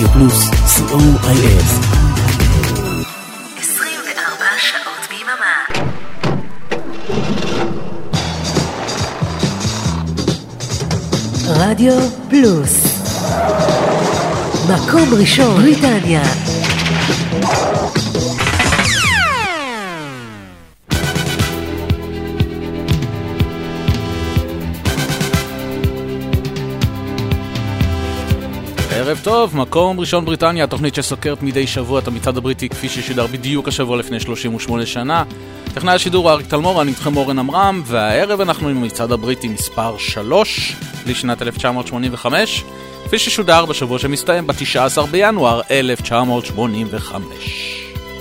רדיו פלוס, COIS. 24 שעות ביממה. רדיו פלוס, מקום ראשון בריטניה. ערב טוב, מקום ראשון בריטניה, תוכנית שסוקרת מדי שבוע את המצעד הבריטי כפי ששודר בדיוק השבוע לפני 38 שנה. טכנאי השידור אריק תלמור, אני איתכם אורן אמרם, והערב אנחנו עם המצעד הבריטי מספר 3 לשנת 1985, כפי ששודר בשבוע שמסתיים ב-19 בינואר 1985.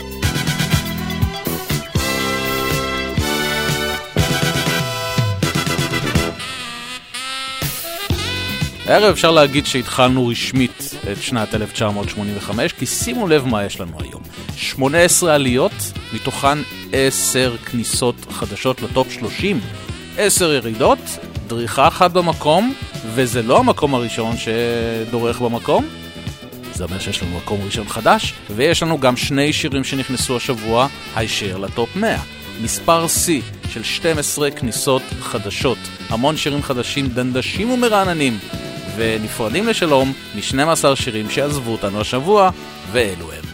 הערב אפשר להגיד שהתחלנו רשמית את שנת 1985, כי שימו לב מה יש לנו היום. 18 עליות, מתוכן 10 כניסות חדשות לטופ 30, 10 ירידות, דריכה אחת במקום, וזה לא המקום הראשון שדורך במקום, זה אומר שיש לנו מקום ראשון חדש, ויש לנו גם 2 שירים שנכנסו השבוע, הישר לטופ 100. מספר C של 12 כניסות חדשות, המון שירים חדשים דנדשים ומרעננים, ונפרדים לשלום מ-12 שירים שעזבו אותנו השבוע, ואלו הם.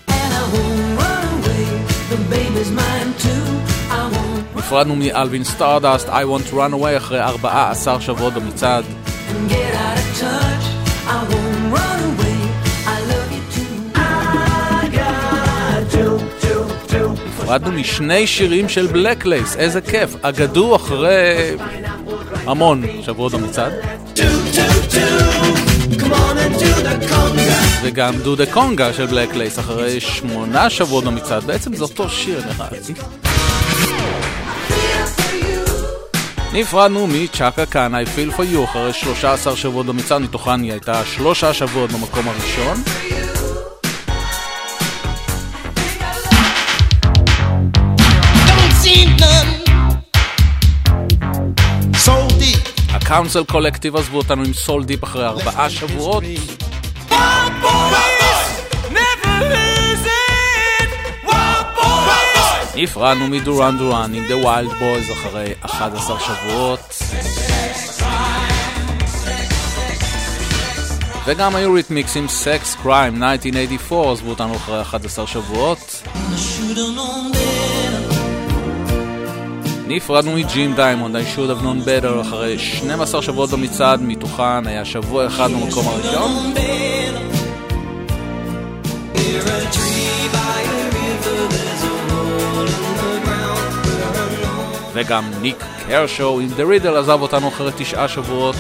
נפרדנו מאלווין סטארדאסט, I want to run away, אחרי 14 שבועות במצעד. נפרדנו משני שירים של בלקלייס, איזה כיף, אגדו אחרי המון שבועות במצעד. וגם דו דה קונגה של בלקלייס אחרי 8 שבועות במצעד. בעצם זה אותו שיר נראה. נפרדנו מצ'אקה קאן I feel for you אחרי 13 שבועות במצעד, מתוכן היא הייתה 3 שבועות במקום הראשון. הקאונסל קולקטיב עזבו אותנו עם סול דיפ אחרי 4 שבועות. נפרדנו מדורן דורן עם The Wild Boys אחרי 11 שבועות. וגם היוריתמיקס עם Sex Crime 1984 עזבו אותנו אחרי 11 שבועות. נפרדנו מג'ים דיימונד I should have known better אחרי 12 שבועות במצעד, מתוכן היה שבוע אחד במקום הראשון. וגם ניק קרשו עם The Riddle עזב אותנו אחרי 9 שבועות.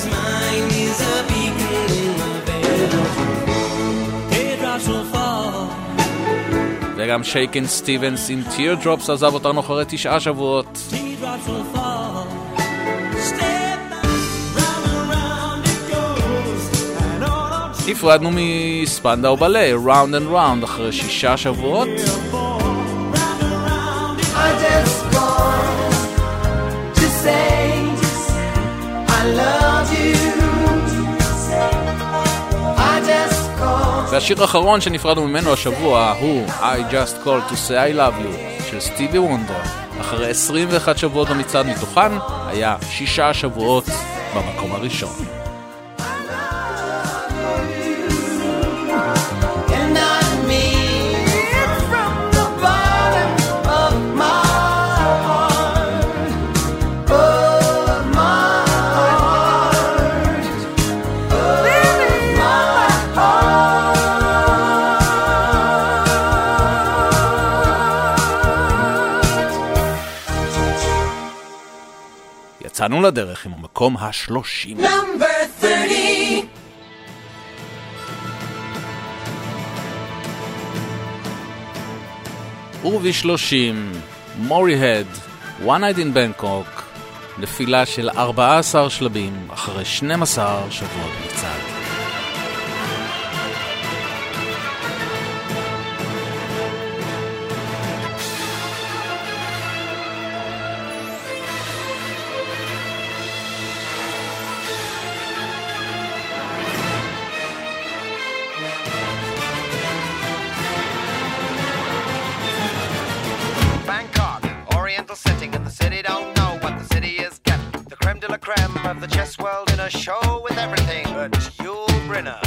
וגם שייקן סטיבנס עם Teardrops עזב אותנו אחרי 9 שבועות. נפרדנו מספנדאו בלה Round and Round אחרי 6 שבועות. והשיר האחרון שנפרדנו ממנו השבוע הוא I Just Called to Say I Love You של סטיבי וונדר אחרי 21 שבועות במצעד, מתוכן היה 6 שבועות במקום הראשון. יצאנו לדרך עם המקום ה-30. Number 30. וב-30 מורי-הד One Night in Bangkok, נפילה של 14 שלבים אחרי 12 שבועות מצעד. creme of the chess world in a show with everything but Yul Brynner.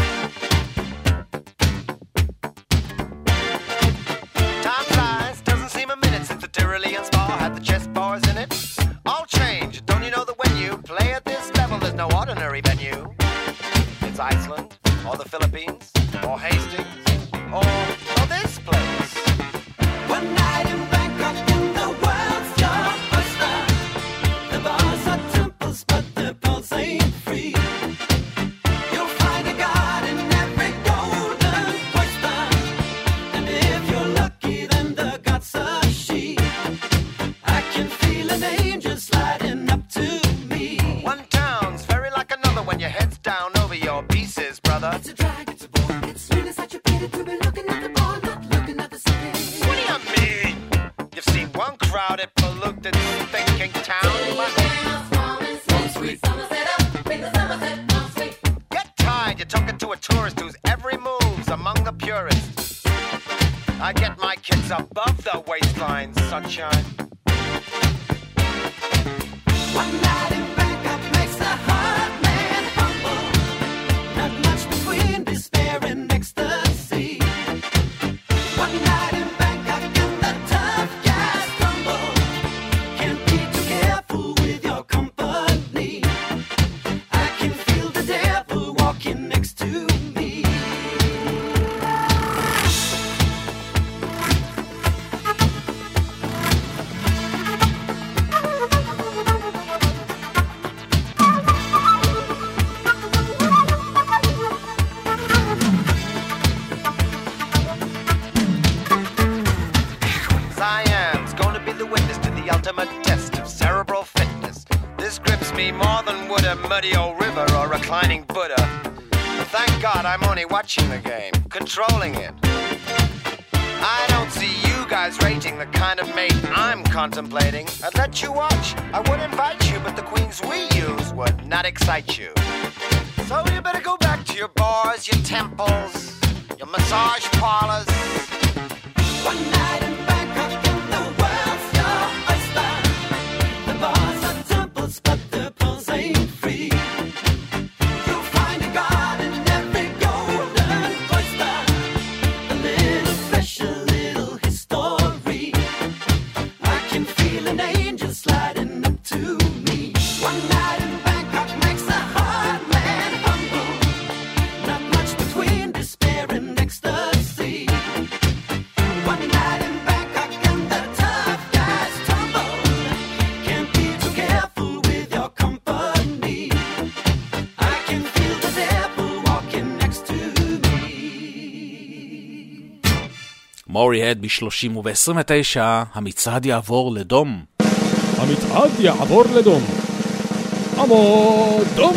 Time flies, doesn't seem a minute since the Tyrolean Spa had the chess bars in it. All change, don't you know that when you play at this level, there's no ordinary venue? It's Iceland, or the Philippines, or Hastings, or this place. One night in Bangkok in the world's your oyster. The bars are temples, but the pulse ain't free. You'll find a god in every golden oyster, and if you're lucky, then the god's a she. I can feel an angel sliding up to me. One town's very like another when your head's down over your pieces, brother. It's a drag, it's a bore, it's really such a pity to be looking at the bar, not looking at the city. What do you mean? You've seen one crowded, polluted, thinking town. Get tired, you're talking to a tourist whose every move's among the purists. I get my kicks above the waistline, sunshine. One night in Bangkok makes a hard man humble. Not much between despair and ecstasy. One night in Bangkok and the tough guys crumble. Can't be too careful with your company. I can feel the devil walking next to me. Siam's gonna be the witness to the ultimate test of cerebral fitness. This grips me more than would a muddy old river or reclining Buddha. But thank God I'm only watching the game, controlling it. I don't see you guys rating the kind of mate I'm contemplating. I'd let you watch, I would invite you, but the queens we use would not excite you. So you better go back to your bars, your temples, your massage parlors. One night in Bangkok and the world's your oyster. The bars are temples, but the pulse ain't free. You'll find a god in every golden oyster. A little fresh, a little history. I can feel an angel sliding up to me. One night in Bangkok makes a hard man humble. Not much between despair and ecstasy. One night in Bangkok and the tough guys tumble. Can't be too careful with your company. I can feel the devil walking next to me. מורי-הד ב-30 וב-29, המצעד יעבור לדום. המצעד יעבור לדום. עמוד דום.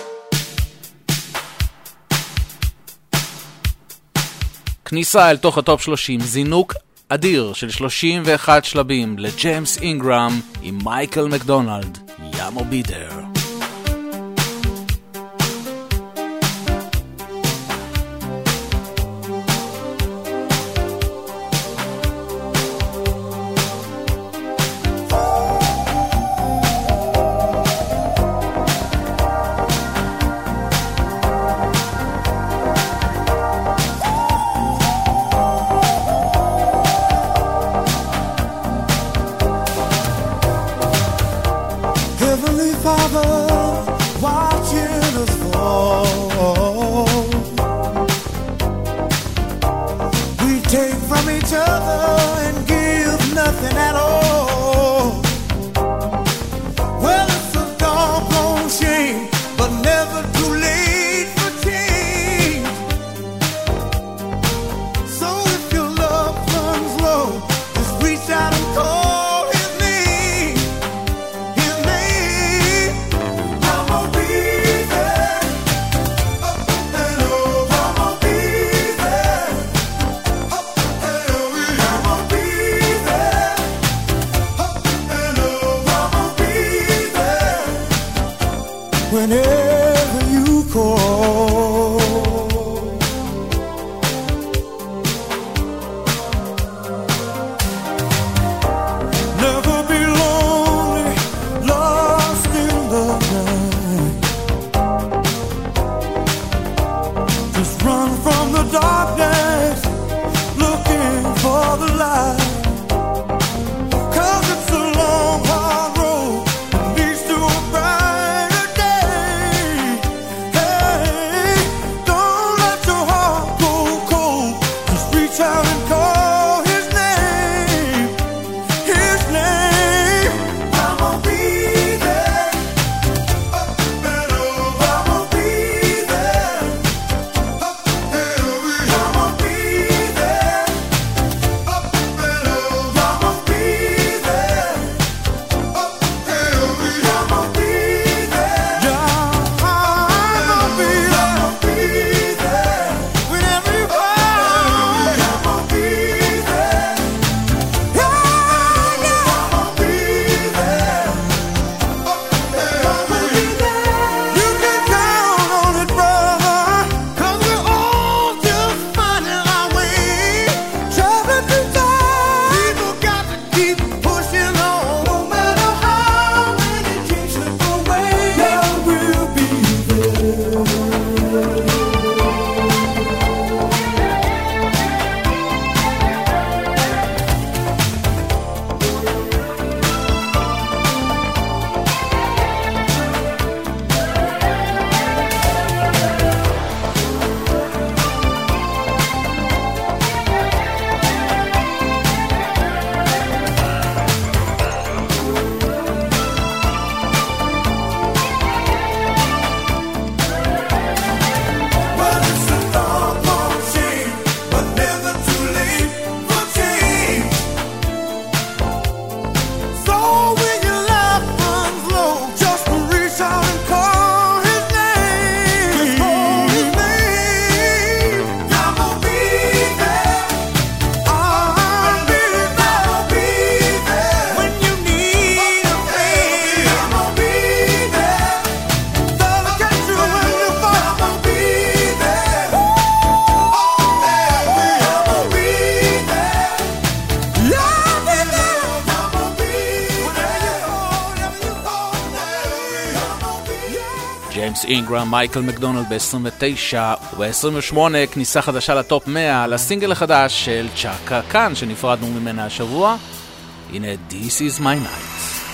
כניסה אל תוך הטופ 30, זינוק אדיר של 31 שלבים לג'יימס אינגרם עם מייקל מקדונלד, יאמו בי דר. Heavenly Father, watching us fall. We take from each other and give nothing at all. Well, it's a doggone shame, but never too late for change. So if your love runs low, just reach out and call. ג'יימס אינגרם, מייקל מקדונלד ב-29 וב-28 כניסה חדשה לטופ 100 לסינגל החדש של צ'אקה קאן שנפרדנו ממנה השבוע. הנה This is my night.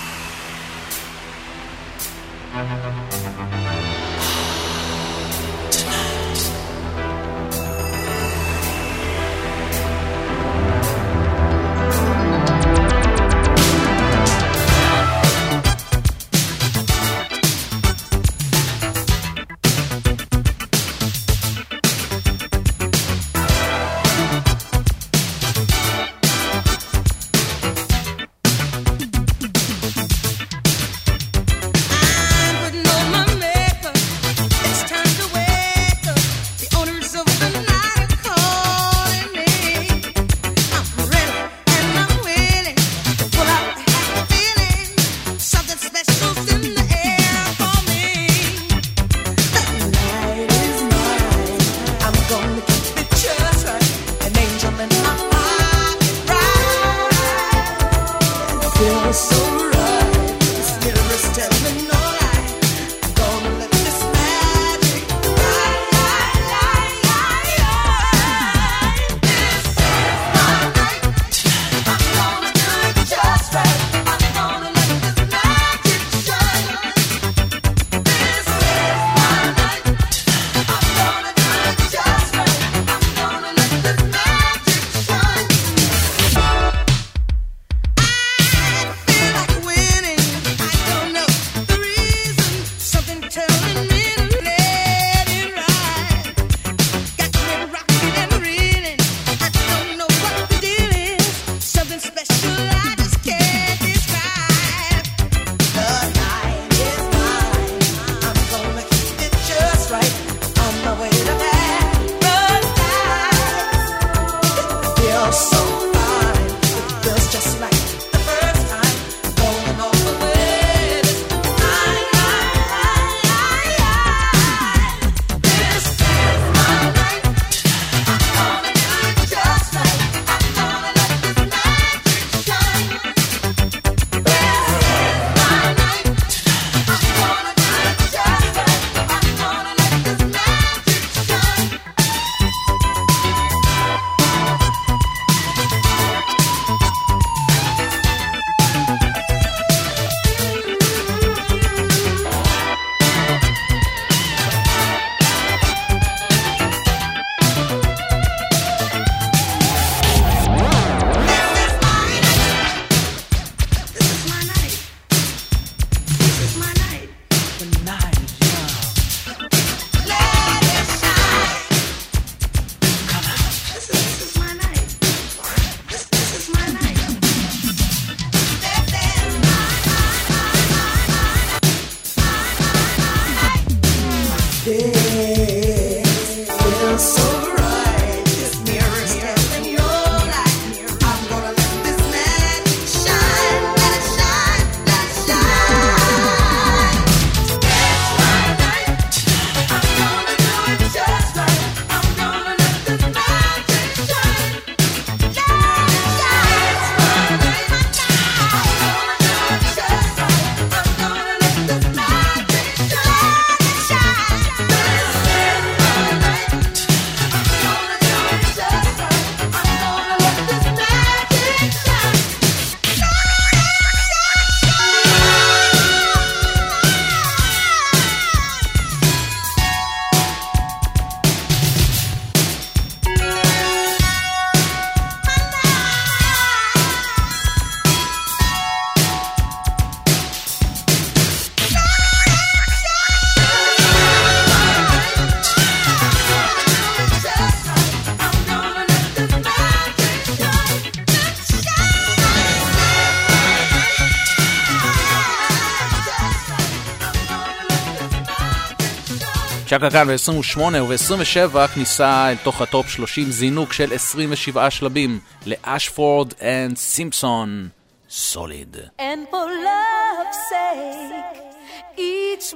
צ'אקה קאן ב-28 וב-27 כניסה אל תוך הטופ 30 זינוק של 27 שלבים לאשפורד אנד סימפסון סוליד. And for love's sake each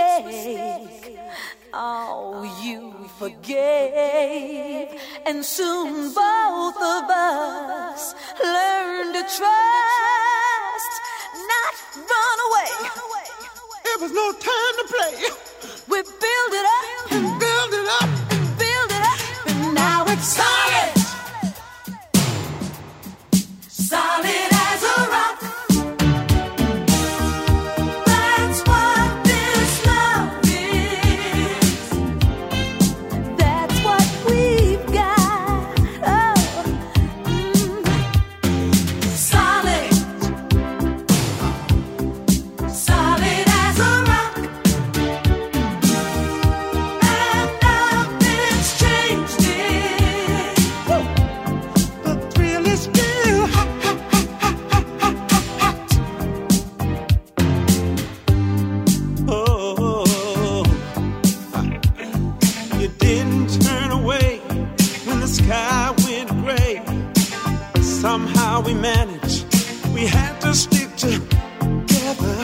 mistake oh you forgave and soon both of us learn to trust not run away. It was no time to play. We build it up and build it up and build it up, and now it's solid. Solid as a rock. That's what this love is. That's what we've got. Oh, solid. Solid as a rock. And nothing's changed it. The thrill is still hot. Oh, you didn't turn away when the sky went gray. Somehow we managed. We had to stick together.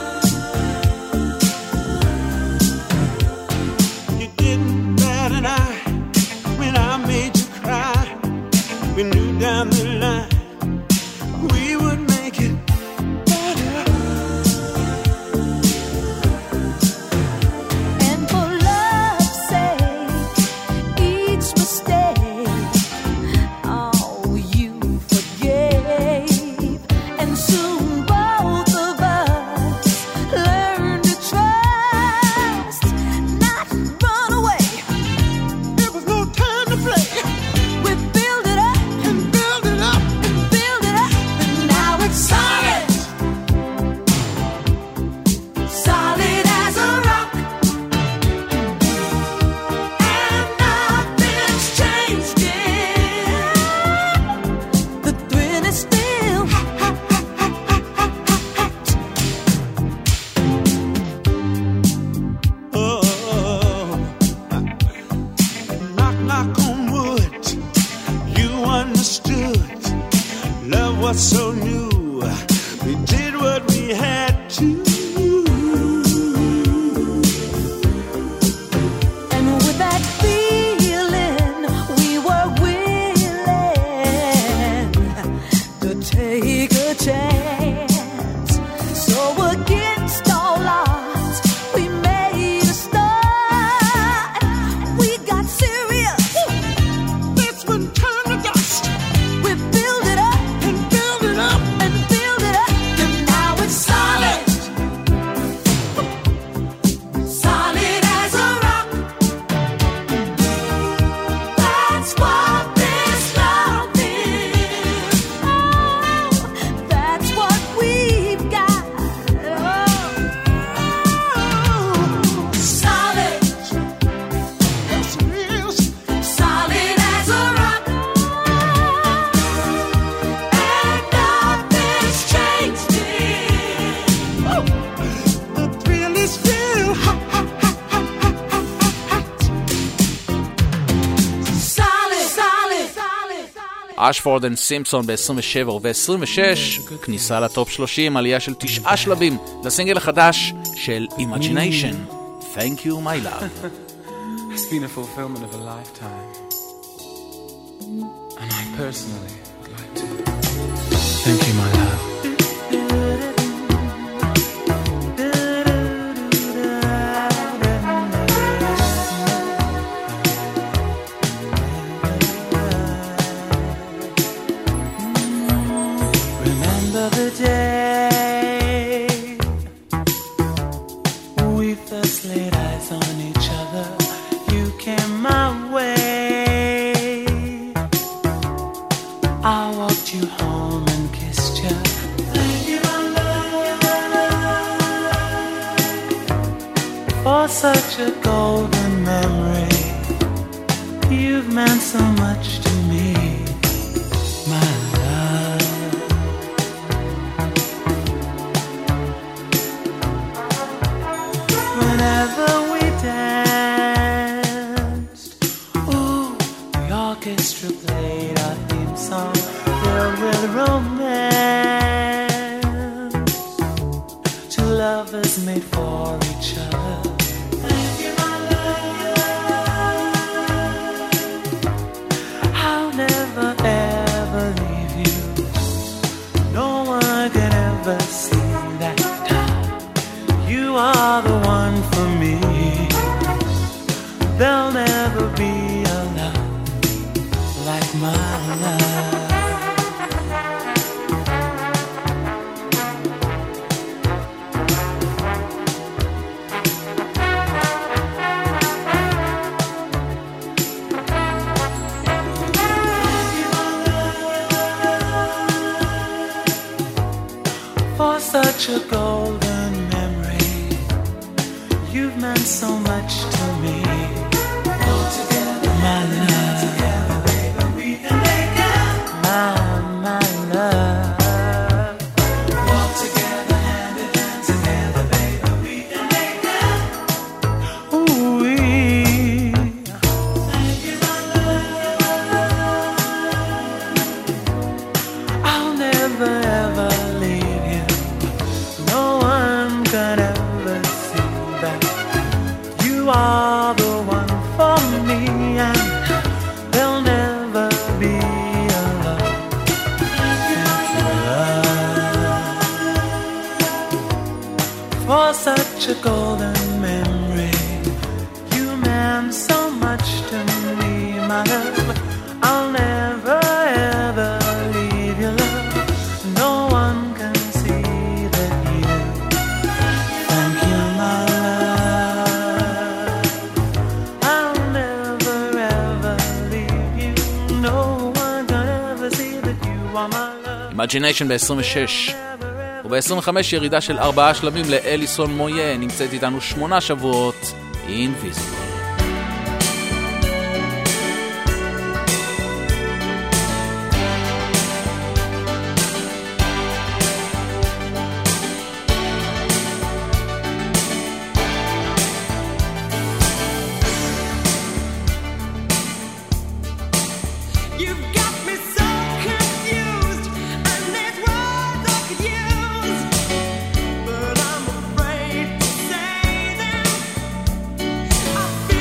You didn't bat an eye when I made you cry. We knew down the line we would make it better. And for love's sake, each mistake, oh, you forgave. And soon both of us learned to trust, not run away. There was no time to play. We build it up And build it up. and build it up, and now it's solid. Solid as a rock. And nothing's changed it. The thrill is still Oh, knock, knock on wood. You understood. Love was so new. We did what we had to. And with that feeling, we were willing to take a chance. So against all odds, we made a start. We got serious. This one turned to dust. We build it up And build it up. and build it up, and now it's solid. Solid as a rock. That's what this love is. Oh, that's what we've got. Oh, solid. Yes, it is. Solid as a rock. And nothing's changed it. The thrill is still hot. Solid, solid, solid, solid. אשפורד אנד סימפסון ב-27 וב-26, כניסה לטופ 30, עלייה של 9 שלבים לסינגל החדש של Imagination. Thank you my love. It's been a fulfillment of a lifetime. And I personally would like to thank you, my love. Remember the day we first laid eyes on each other. You came my way. I walked you home and kissed you. Thank you, my love, for such a golden memory. You've meant so much to me, my love. Whenever we danced, ooh, the orchestra played our theme song, filled with romance. Two lovers made for each other. Thank you, my love. I'll never ever leave you. No one can ever see that. You are the one for me. there'll never be a love like my love. For such a golden memory, you've meant so much to me. All together, my love. Together, baby, we can make it. My love. Walk together, hand in hand together, baby, we can make it. Ooh-wee. Thank you, my love. I'll never ever leave you. No one can ever see that you are the one for me, and there'll never be a love like your love. For such a golden memory, you meant so much to me, my love. I'll never ever leave your love. No one can see that you. Thank you, my love. I'll never ever leave you. No one can ever see that you are my love. Imagination ב-26 וב-25 ירידה של 4 שלבים לאליסון מויה, נמצאת איתנו 8 שבועות, Invisible. You've got me so confused, and there's words I could use, but I'm afraid to say them. I feel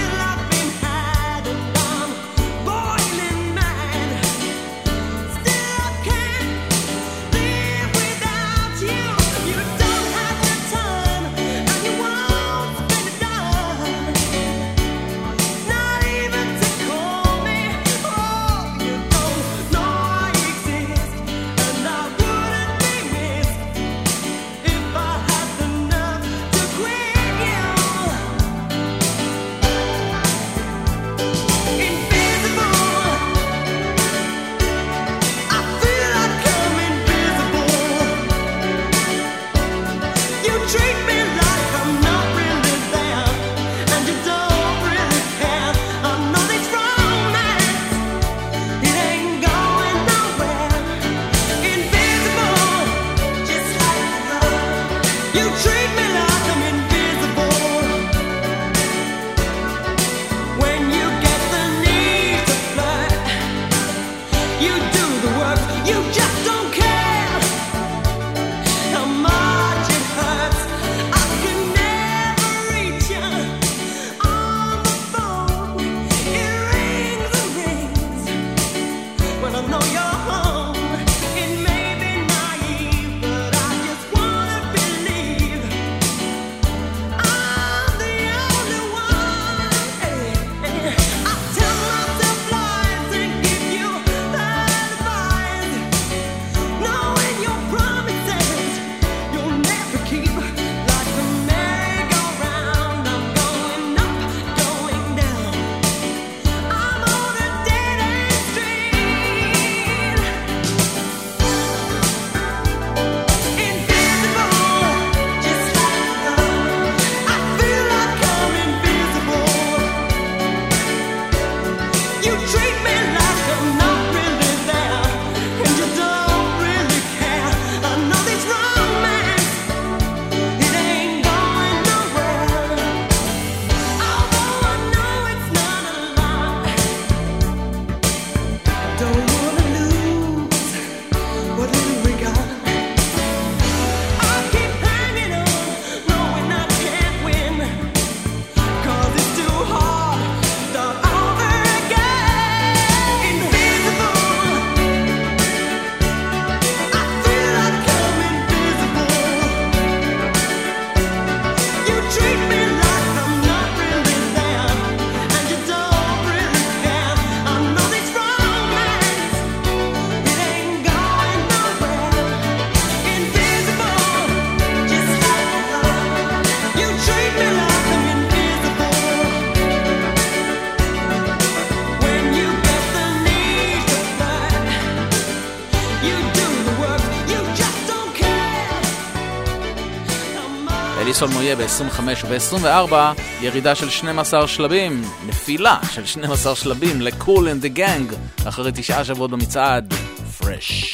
סול מויה ב-25 וב-24 ירידה של 12 שלבים, נפילה של 12 שלבים לקול אנד דה גנג אחרי 9 שבועות במצעד פרש.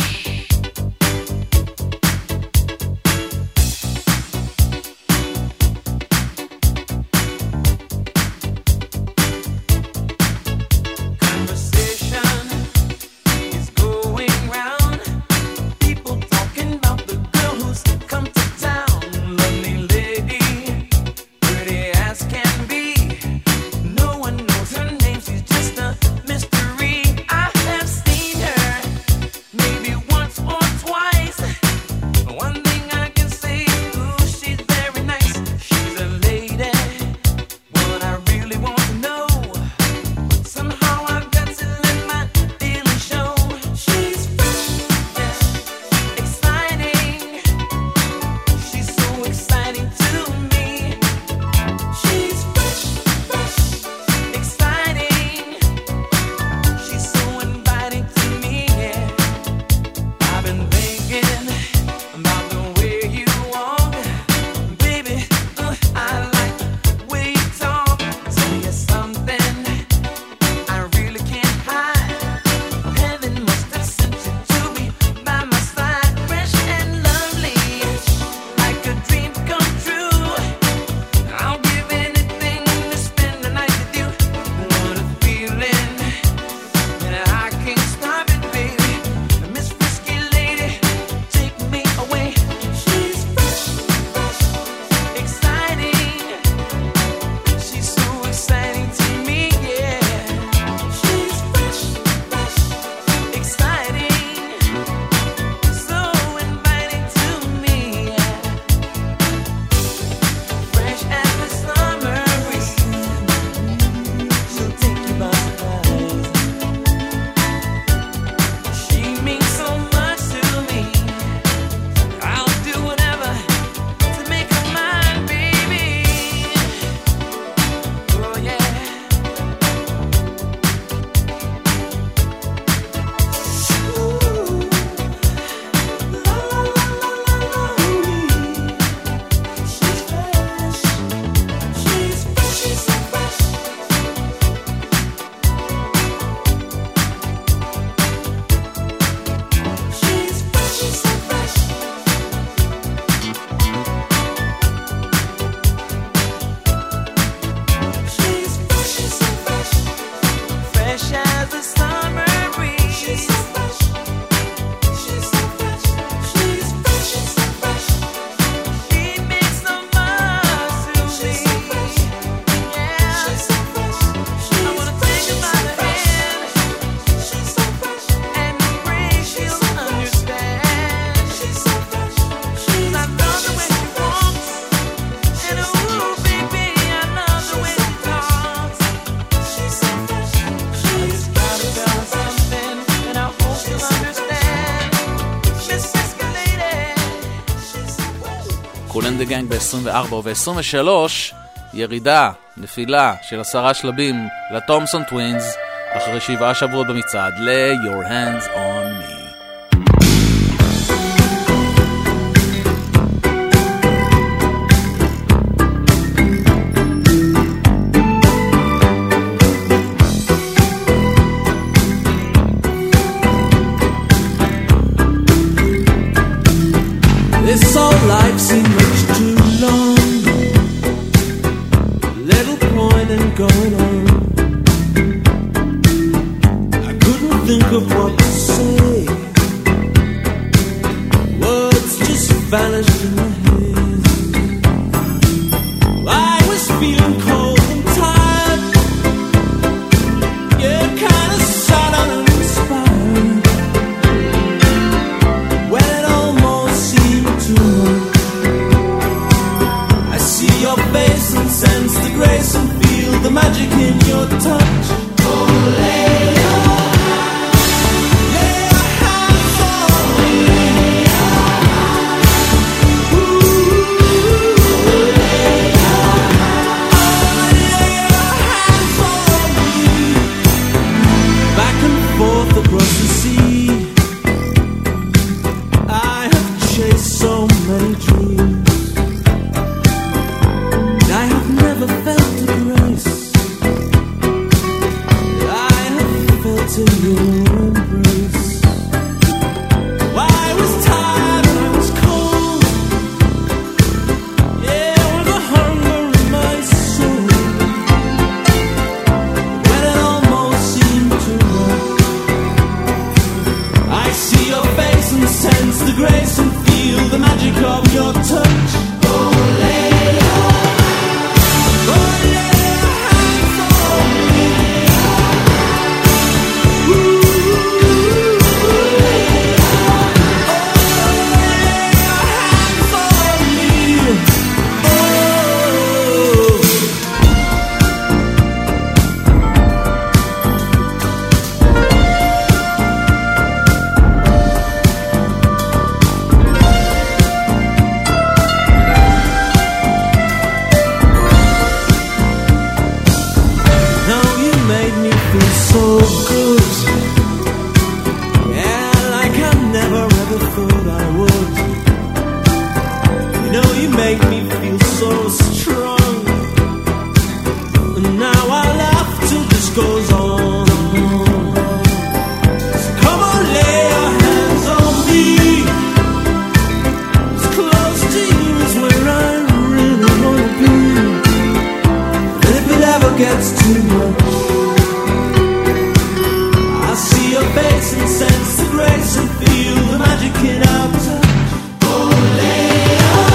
קול אנד דה גנג ב-24 וב-23 ירידה, נפילה של 10 שלבים לטומסון טווינס אחרי 7 שבועות במצעד ל-Your Hands on Me. This whole life seemed much too long. Little point in going on. I couldn't think of what to say. Words just vanished in my head. I was feeling cold and tired. Yeah, kind of sad and uninspired. When it almost seemed too much, I see your face and sense the grace and feel the magic in your touch. Oh, lay your hands on me. Ooh, lay your hands on me. Back and forth across the sea, I have chased so many dreams. gets too much. I see your face and sense the grace and feel the magic in our touch. Oh, lay your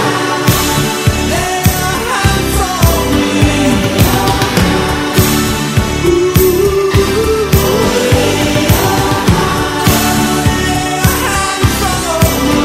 hands on me. Ooh, oh, lay your hands on me.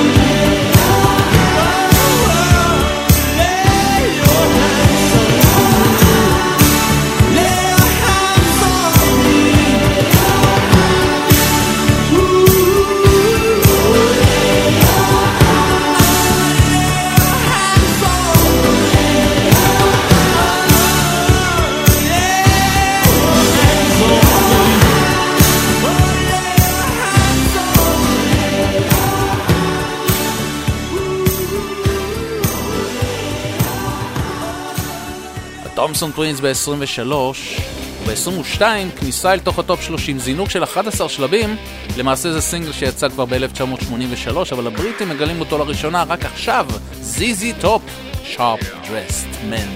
תומסון טווינס ב-23, ב-22 כניסה אל תוך הטופ 30, זינוק של 11 שלבים. למעשה זה סינגל שיצא כבר ב-1983, אבל הבריטים מגלים אותו לראשונה רק עכשיו. זיזי טופ, Sharp Dressed Men.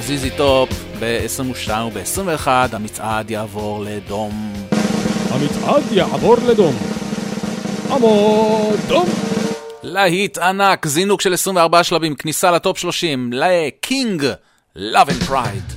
זיזי טופ ב-22 וב-21 המצעד יעבור לדום. המצעד יעבור לדום. דום. להיט ענק, זינוק של 24 שלבים, כניסה לטופ 30, לקינג, Love and Pride.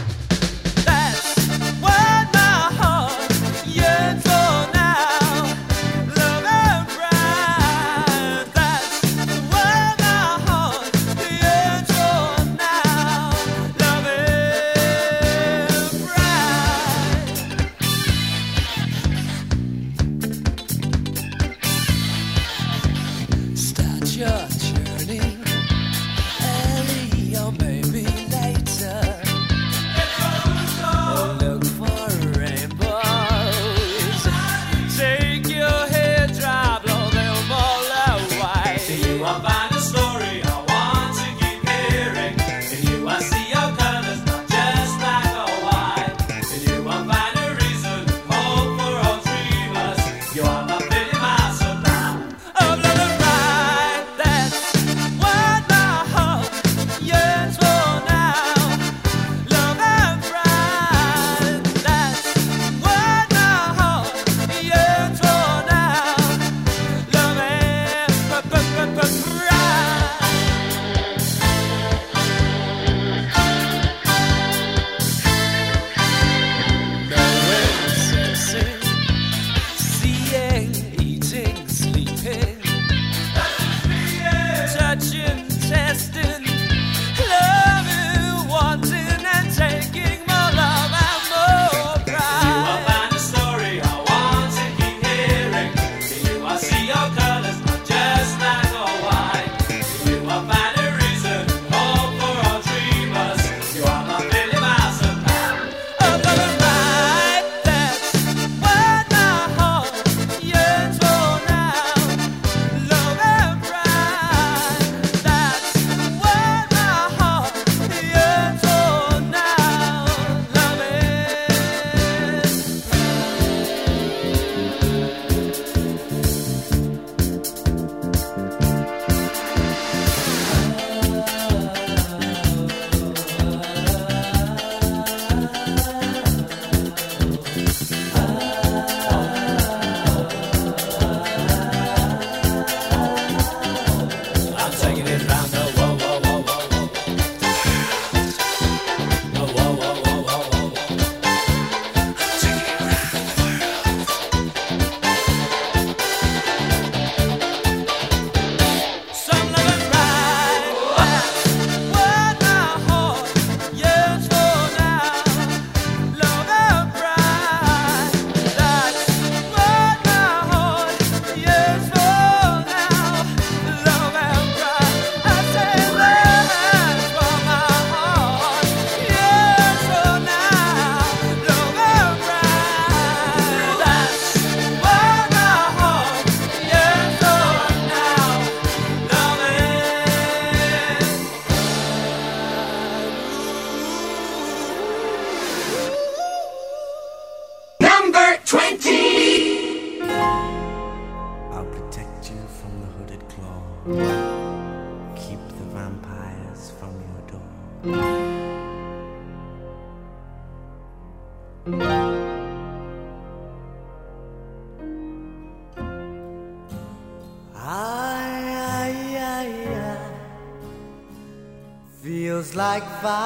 Feels like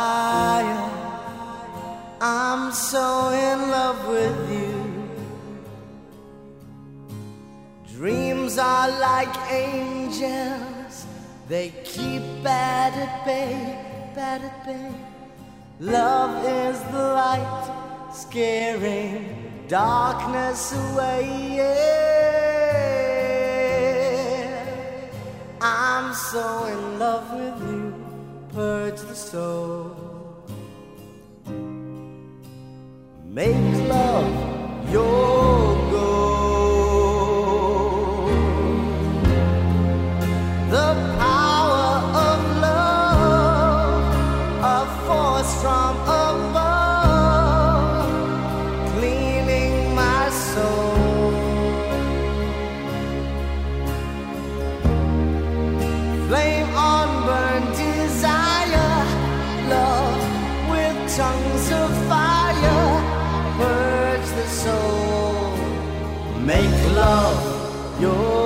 fire. I'm so in love with you. Dreams are like angels. They keep bad at bay, bad at bay. Love is the light, scaring darkness away. Yeah. I'm so in love with you. Purge the soul. Make love your goal. The power of love, a force from above, cleaning my soul. Flame on, burn desire, love tongues of fire purge the soul. Make love your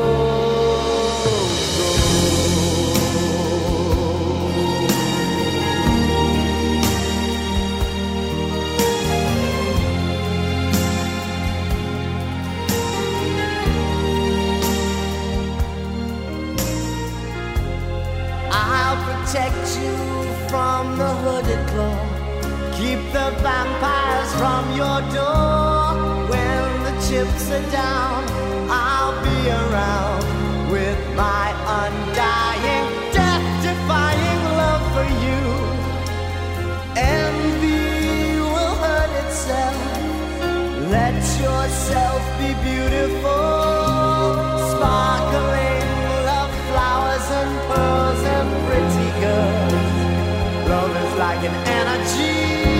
protect you from the hooded claw. Keep the vampires from your door. When the chips are down, I'll be around with my undying, death-defying love for you. Envy will hurt itself. Let yourself be beautiful, sparkling love flowers and pearls and pretty girls. Love is like an energy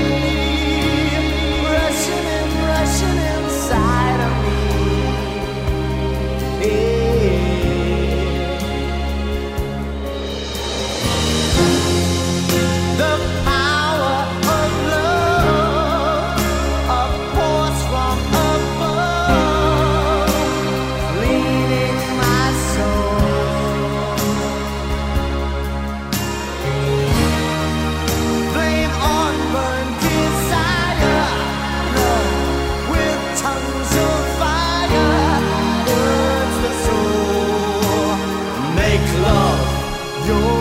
rushing inside of me. The power of love, a force from above, leading my soul. Flame on, burn desire, love with tongues of fire, burns the soul. Make love your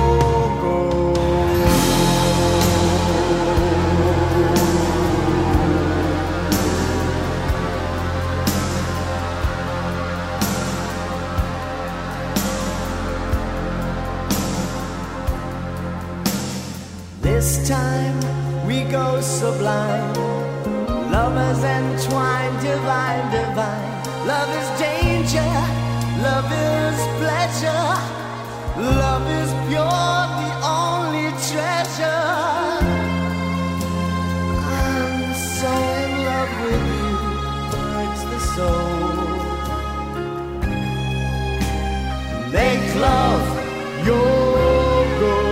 This time we go sublime, lovers entwined, divine, divine. Love is danger, love is pleasure, love is pure, the only treasure. I'm so in love with you, hurts the soul. Make love your goal.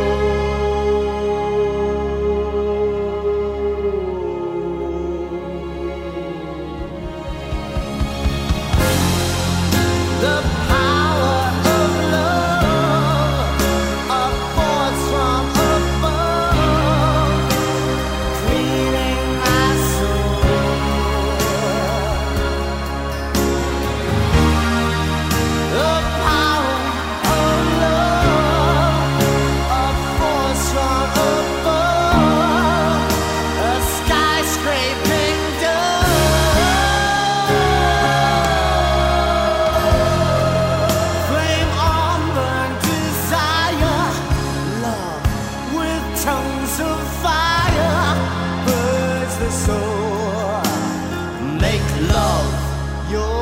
The power of love, a force from above, cleaning my soul. The power of love, a force from above, a skyscraping flame on, burn desire, love with tongues of fire, burns the soul. Make love your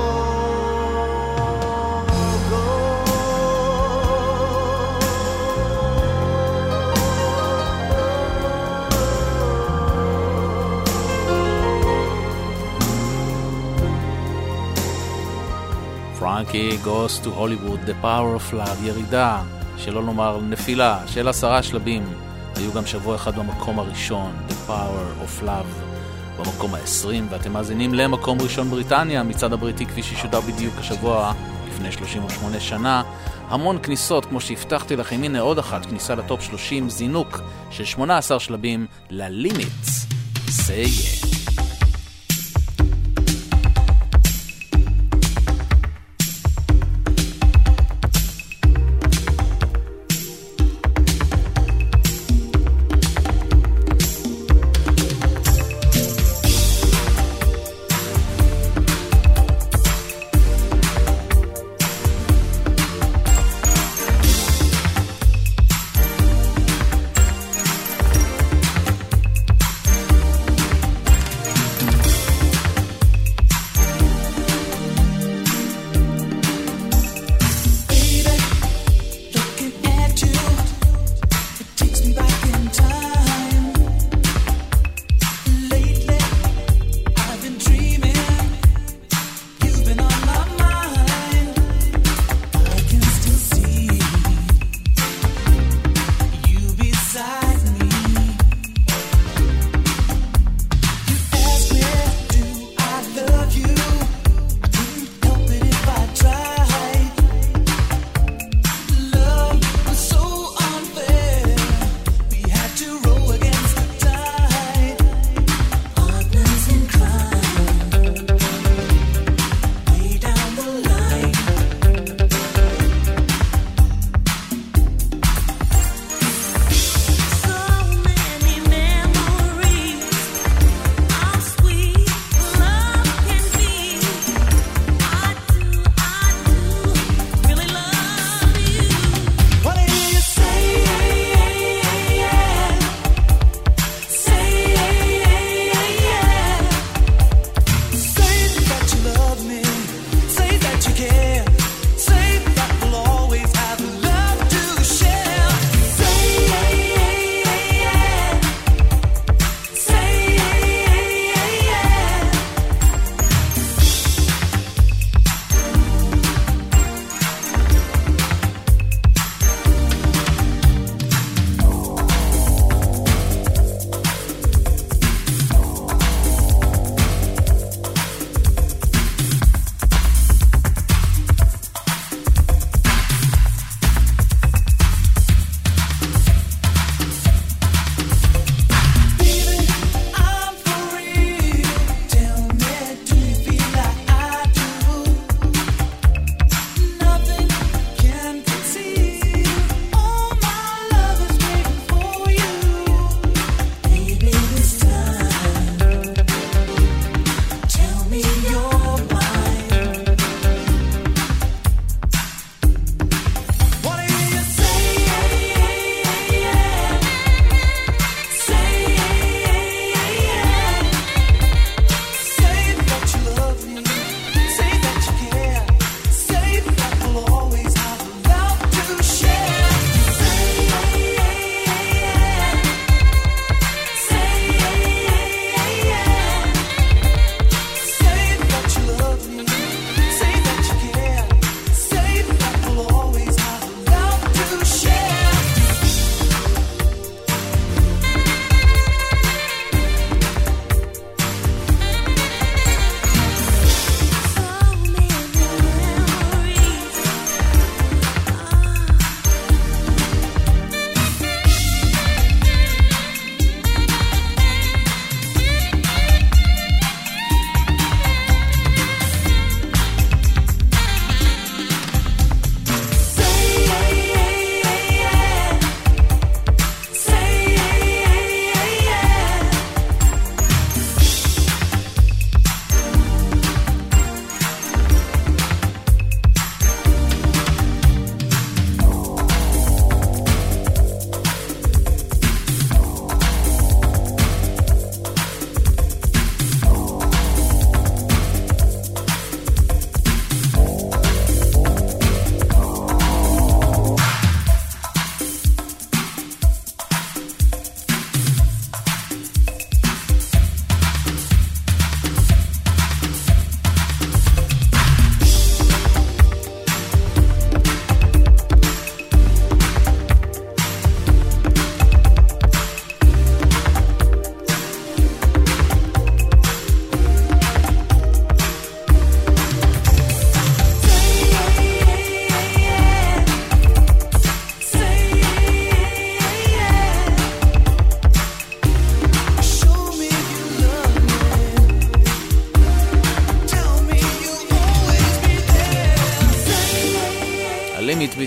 Frankie Goes to Hollywood, The Power of Love, ירידה, שלא לומר נפילה, של 10 שלבים. היו גם שבוע אחד במקום הראשון, The Power of Love, במקום ה-20, ואתם מאזינים למקום ראשון בריטניה, מצד הבריטי כפי ששודר בדיוק השבוע, לפני 38 שנה. המון כניסות, כמו שהבטחתי לכם, הנה עוד אחת, כניסה לטופ 30, זינוק של 18 שלבים ללימיטס. Say yeah.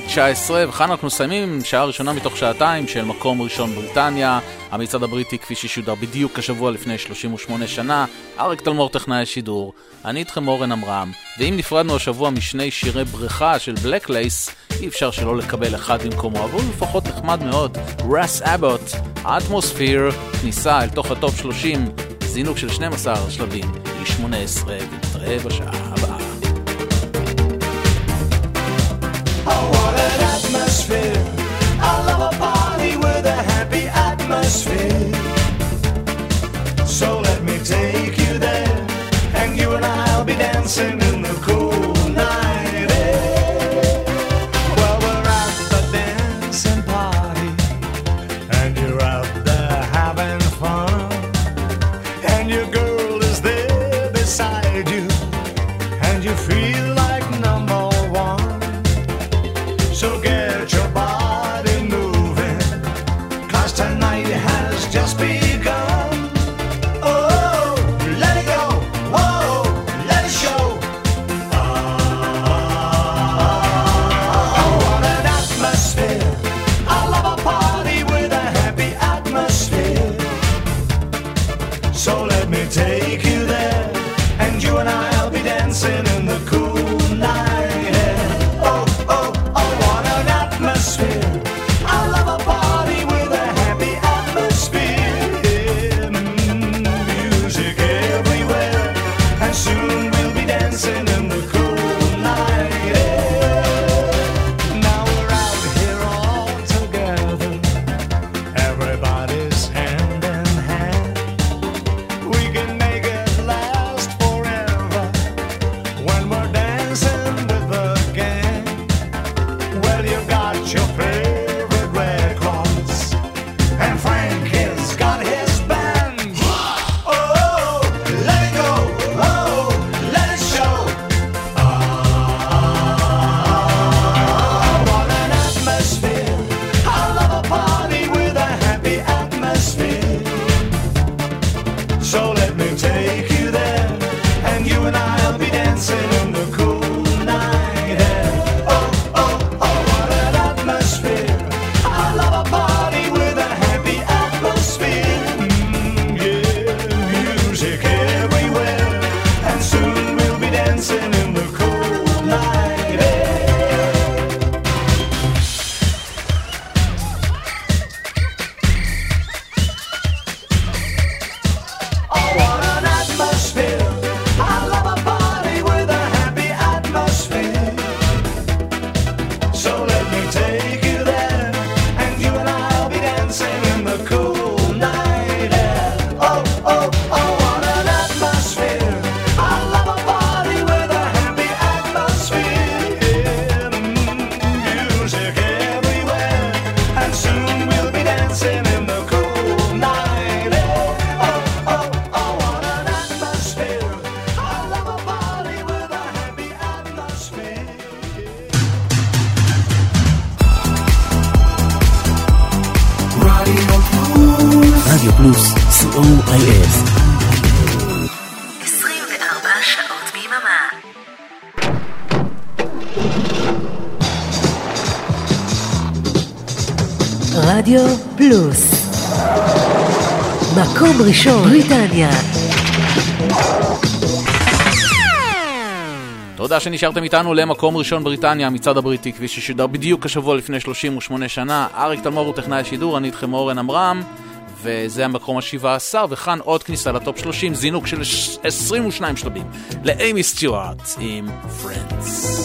19, וכאן אנחנו מסיימים שעה ראשונה מתוך שעתיים של מקום ראשון בריטניה, המצעד הבריטי כפי ששודר בדיוק השבוע לפני 38 שנה, אריק תלמור טכנאי השידור, אני איתכם אורן אמרם, ואם נפרדנו השבוע משני שירי בריכה של בלקלייס, אי אפשר שלא לקבל אחד במקומו, אבל לפחות נחמד מאוד, רס אבוט, האטמוספיר, כניסה אל תוך הטופ 30, זינוק של 12 שלבים, ל-18, ונתראה בשעה הבאה. Oh, what an atmosphere. I love a party with a happy atmosphere. So let me take you there, and you and I'll be dancing in the cool night air. Well, we're at the dancing party, and you're out there having fun, and your girl is there beside you, and you feel like number one. So get your body moving, 'cause tonight has just begun. Oh, let it go, whoa, let it show. Oh, what an atmosphere. I love a party with a happy atmosphere. So let me take you there, and you and I'll be dancing in the cool night air. Oh, oh, oh, what an atmosphere. I love a party with a happy atmosphere. Music everywhere, and soon we'll be dancing in the cool night air. Now we're out here all together, everybody's hand in hand. We can make it last forever when we're dancing with the gang. Well, you got your favorite records, and Frank has got his band. Oh, let it go, oh, let it show. What an atmosphere. I love a party with a happy atmosphere. So let me take you there, and you and I'll be dancing in the cool night air. Oh, oh, oh, what an atmosphere. I love a party with a happy atmosphere. Yeah, music everywhere, and soon we'll be dancing in the cool night air. Oh, what an atmosphere. I love a party with a happy atmosphere. So let me take you there, and you and I'll be dancing in the cool night air. Oh, oh, oh, what an atmosphere. I love a party with a happy atmosphere. Music everywhere, and soon we'll be dancing in the cool night air. Oh, oh, oh, what an atmosphere. I love a party with a happy atmosphere. רדיו פלוס, COIS. 24 שעות ביממה. רדיו פלוס. מקום ראשון בריטניה. תודה שנשארתם איתנו למקום ראשון בריטניה, המצעד הבריטי כפי ששודר בדיוק השבוע לפני 38 שנה. אריק תלמור הוא טכנאי השידור, אני איתכם אורן אמרם, וזה המקום ה-17, וכאן עוד כניסה לטופ 30, זינוק של 22 שלבים לאימי סטיוארט עם Friends.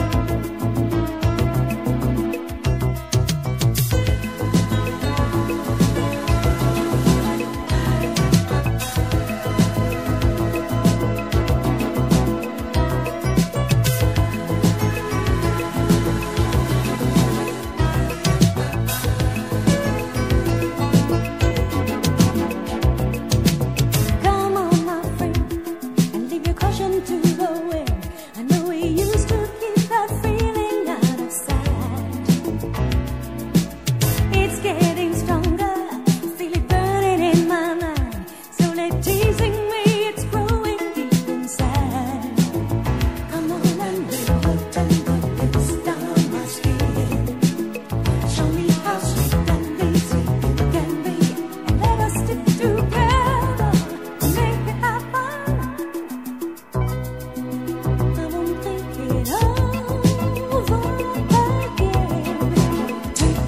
Come on, my friend, and leave your caution to the wind. I know we used to keep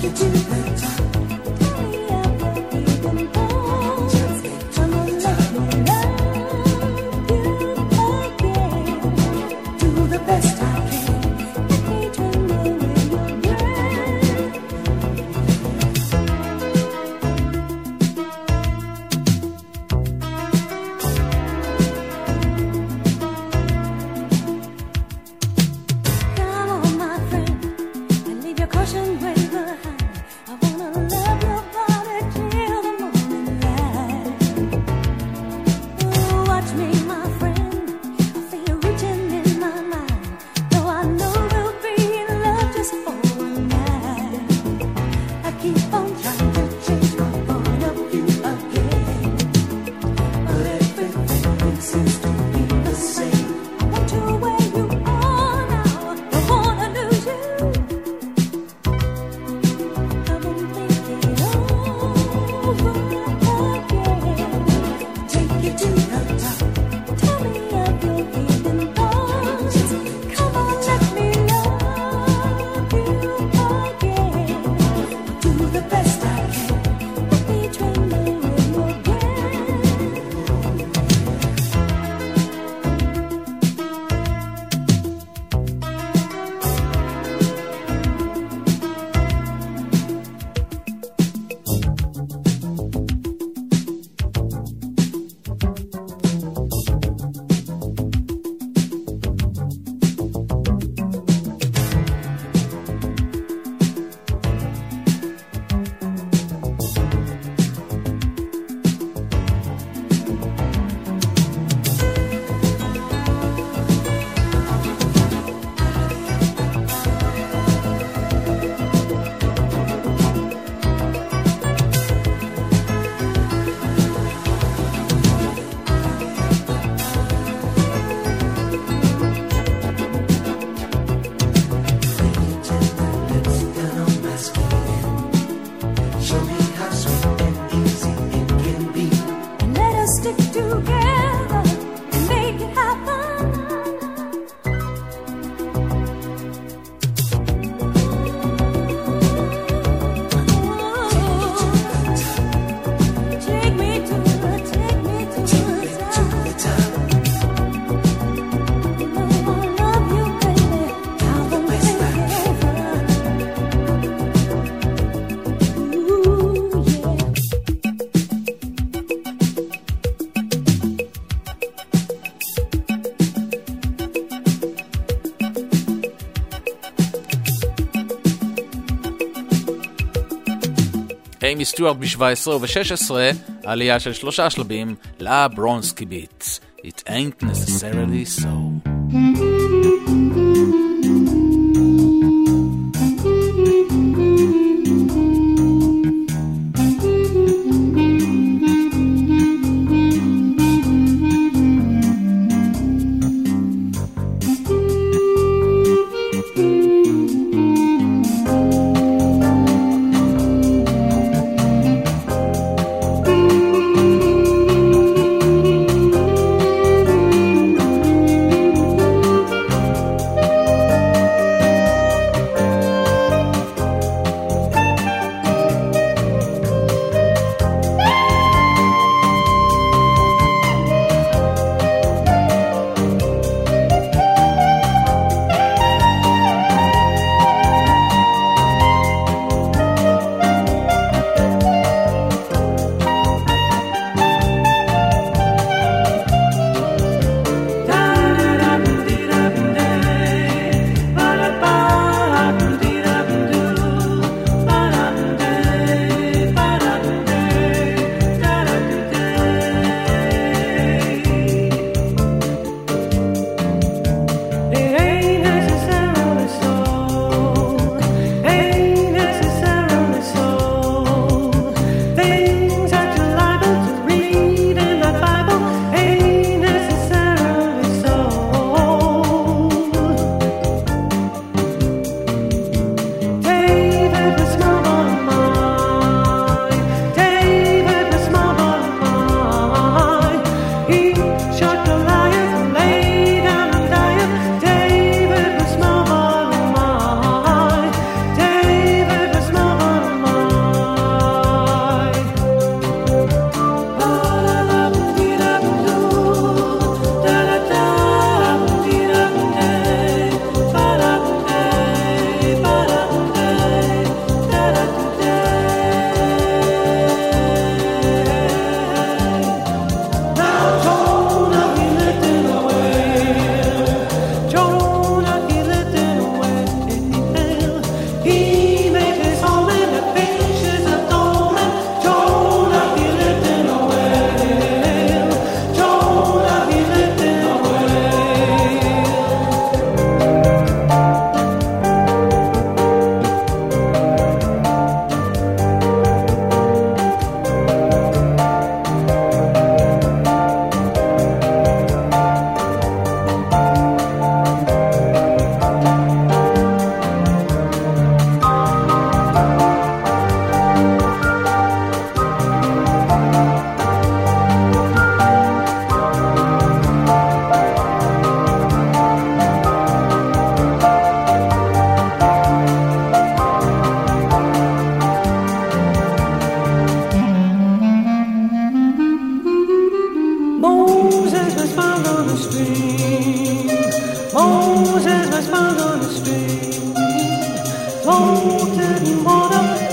אימי סטיוארט ב-17 וב-16, עלייה של 3 שלבים לברונסקי ביט. It ain't necessarily so.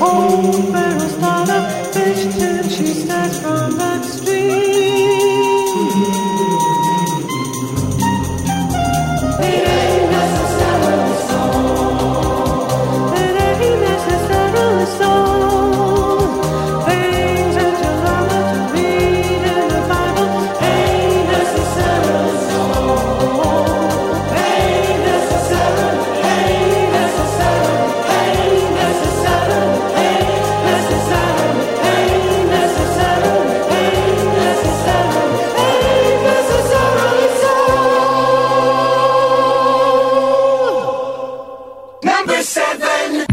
Oh, Pharaoh startup fish till she starts from that stream. It ain't necessarily so. It ain't necessarily so. Things that you learn to read in the Bible ain't necessarily so. Ain't necessarily, ain't necessarily, ain't necessarily, ain't necessarily, ain't necessarily, ain't necessarily, ain't necessarily so. Number 7.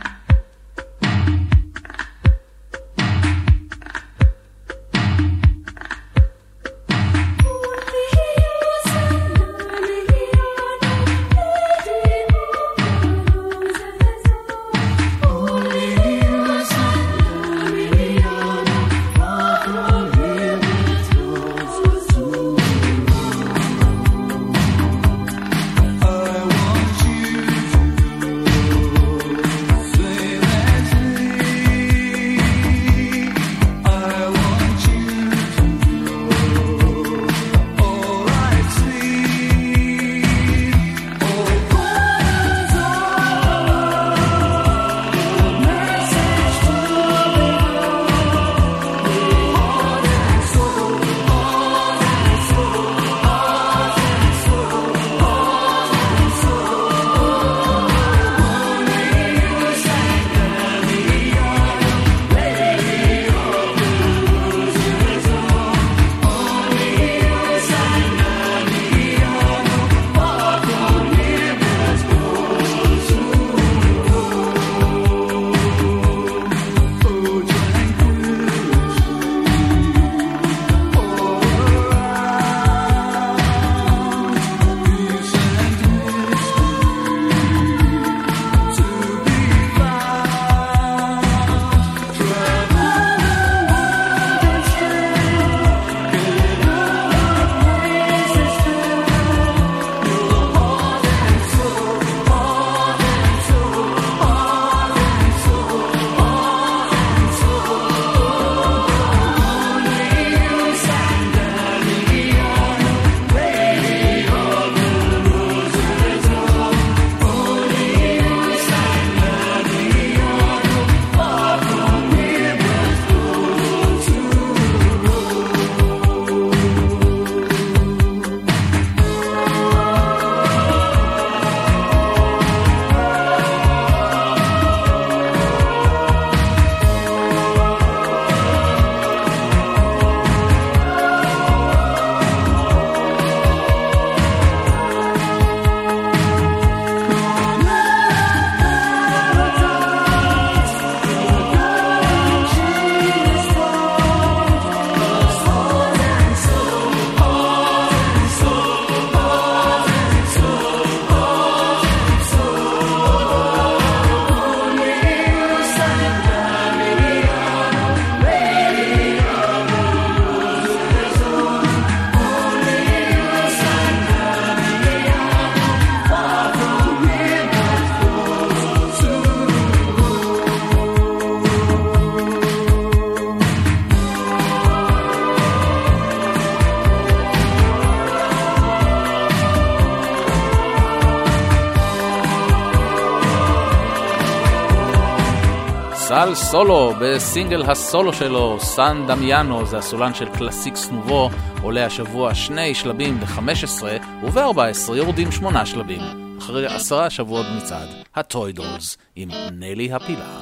סל סולו בסינגל הסולו שלו, סן דמיאנו, זה הסולן של קלאסיקס נובו, עולה השבוע 2 שלבים ב-15 וב-14 יורדים 8 שלבים, אחרי 10 שבועות מצעד, הטוי דולס עם נלי הפילה.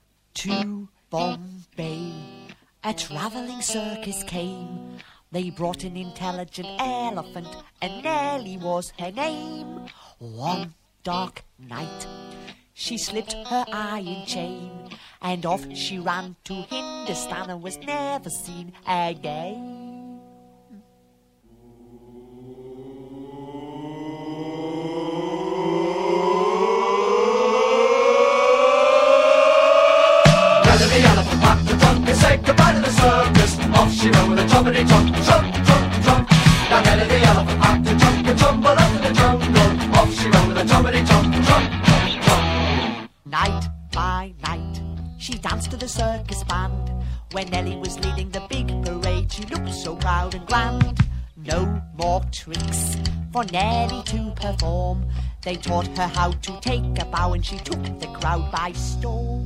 To Bombay, a traveling circus came. They brought an intelligent elephant, and Nellie was her name. One dark night, she slipped her iron chain, and off she ran to Hindustan and was never seen again. The elephant packed the trunk and said goodbye to the circus. Off she ran with a trumpety trump, trump, trump, trump. Now Nelly the elephant packed the trunk and tumbled up in the jungle. Off she ran with a trumpety trump, trump, trump, trump. Night by night, she danced to the circus band. When Nellie was leading the big parade, she looked so proud and grand. No more tricks for Nellie to perform. They taught her how to take a bow, and she took the crowd by storm.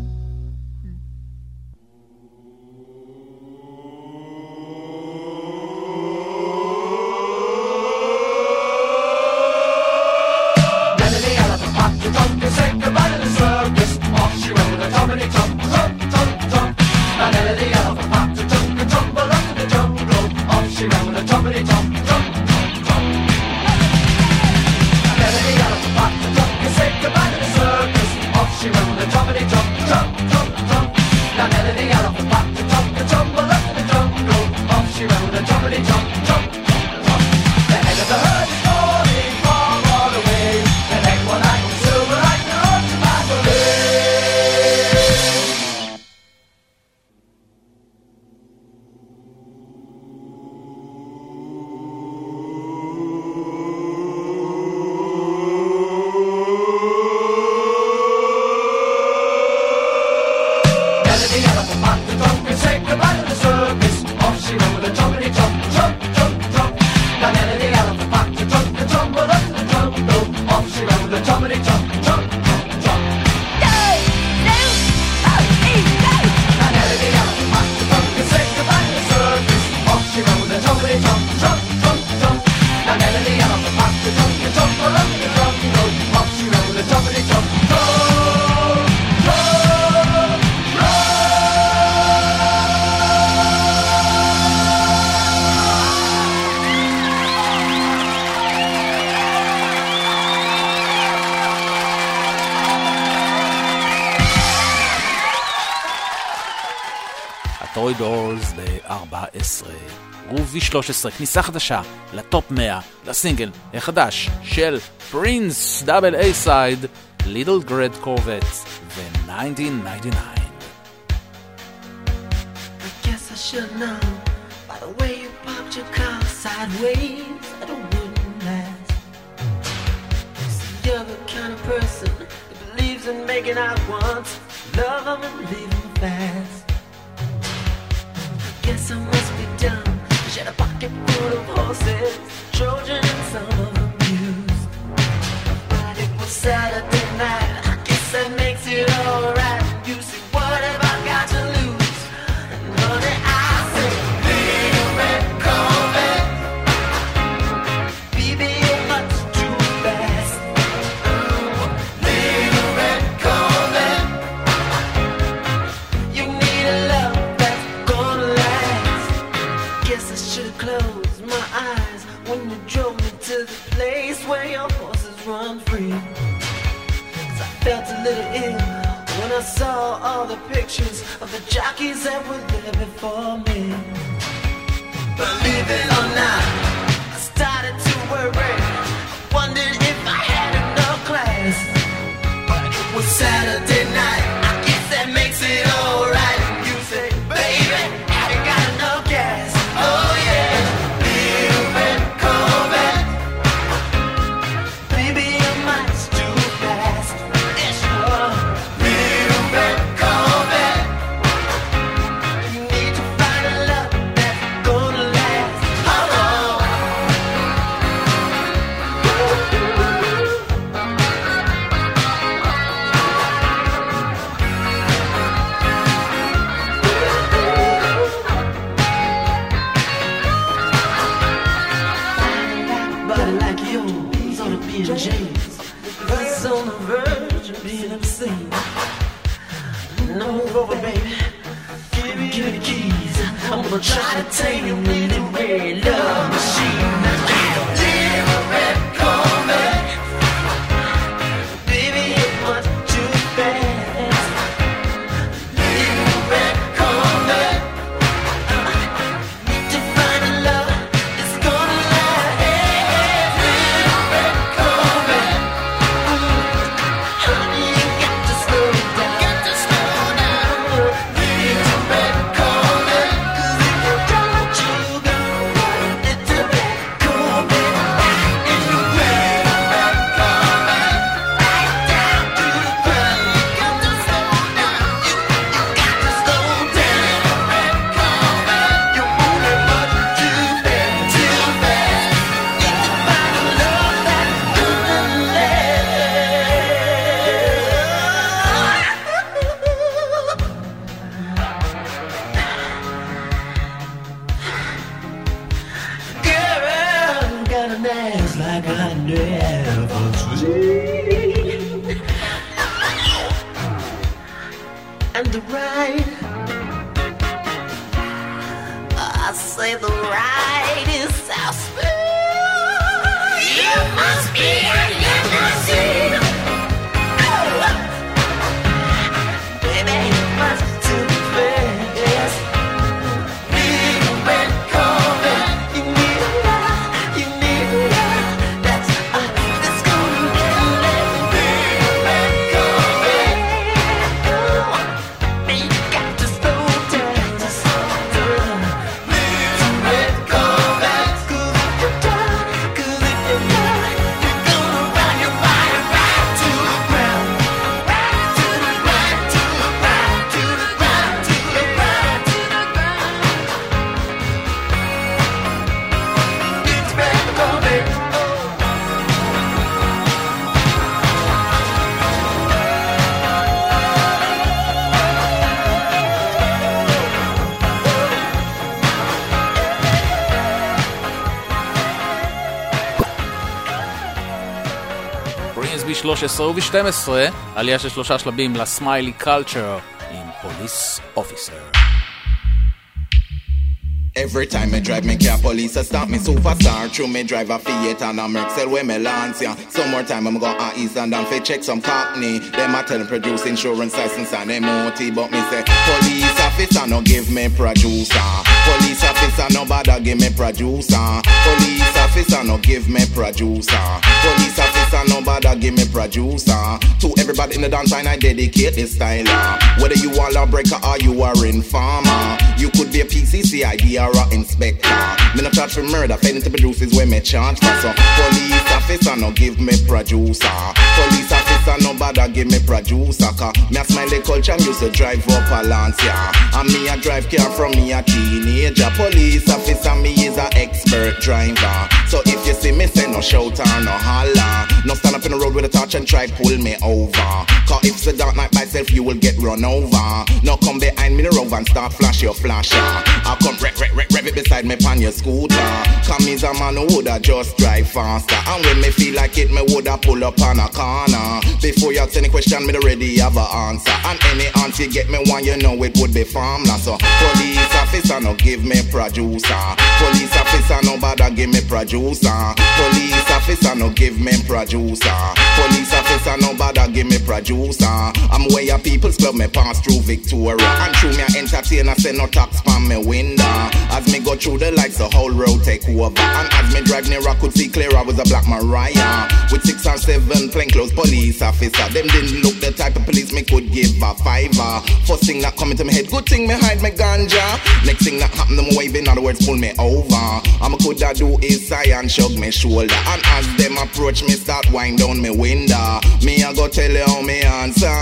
טוי דורס ב-14. גרוב V13, כניסה חדשה לטופ 100, לסינגל החדש של פרינס, דאבל איי סייד, ליטל גרד קורבט ו-1999. I guess I should know by the way you popped your car sideways that it wouldn't last. See, you're the kind of person that believes in making out once, love them and leave them fast. Guess I must be dumb. She had a pocket full of horses, Trojan and some of them used. But it was Saturday night, I guess that makes it alright. You see, what have I got to lose? And honey, I say, little red Corvette, baby, you're much too fast. Little red Corvette, you need a love that's gonna last. Guess I should've closed my eyes when you drove me to the place where your horses run free. 'Cause I felt a little ill when I saw all the pictures of the jockeys that were there before me. Believe it or not, I started to worry. I wondered if I had enough class. But it was Saturday night, I guess that makes it alright. You say, baby, I ain't got enough gas. Oh yeah, little red Corvette, baby, you're much too fast. Yeah, sure. Little red Corvette, you need to find a love that's gonna last. Oh, body like yours ought to be in chains. It's on the verge of being obscene. No over, baby. Give me the keys. I'm gonna try to tame you with a red love machine. Little red Corvette, baby, you're much too fast. Little red Corvette, need to find a love that's gonna last. Little red Corvette, honey, you got to slow down. Little red Corvette, 'cause if you don't, you go. never sleep. And the ride, I say the ride is so smooth. You must be a limousine. Oh, baby, you must to be fast. Big red carpet, you need that's gonna get lit. Big red carpet, you got to slow down, Big red carpet, 'cause if you're done, you're gonna run your body right to the ground, right to the ground, to the ground, to the ground, to the ground, to the ground. Big red carpet. קווינסבי 13 וב-12, עלייה של 3 שלבים לסמיילי קלצ'ר עם פוליס אופיסר. Every time I drive me car, police a stop me superstar. True me drive a Fiat and a Mercel where me lance ya. Some more time I'm go on East and down fi check some cockney. Them a tell them produce insurance license and MOT, but me say police officer no give me producer. Police officer no bother give me producer. Police officer no give me producer. Police officer no bother give me producer. To everybody in the dance line I dedicate this style. Whether you are lawbreaker or you are informer, you could be a PCC idea or a inspector. Me no charge for murder, failing to produce is where me charge for. So police officer no give me producer. Police officer no bother give me producer. Cause me a smiley culture and used to drive up a Lancia. And me a drive car from me a teenager. Police officer me is a expert driver. So if you see me say no shout or no holler, no stand up in the road with a torch and try pull me over. Cause if it's a dark night by self you will get run over. No come behind me the road and start flash your flasher. I come rev it beside me pan your scooter. Come is a man who woulda just drive faster. And when me feel like it, me woulda pull up on a corner. Before you ask any question, me already have a answer. And any answer you get me one, you know it would be formless. So police officer no give me producer. Police officer no bother give me producer. Police officer no give me producer. Police officer no bother give me producer. I'm where your people's club me pass through Victoria. And through me a entertainer say no tax from me window. As me go through the lights, the whole road take over. And as me drive near, I could see clear I was a black Mariah. With 6 or 7 plainclothes police officer. Them didn't look the type of police me could give a fiver. First thing that come into my head, good thing me hide me ganja. Next thing that happen, them wave, in other words, pull me over. I'm could I do is sigh and shrug me shoulder. And as them approach me, start wind down me window. Me I go tell you how me answer.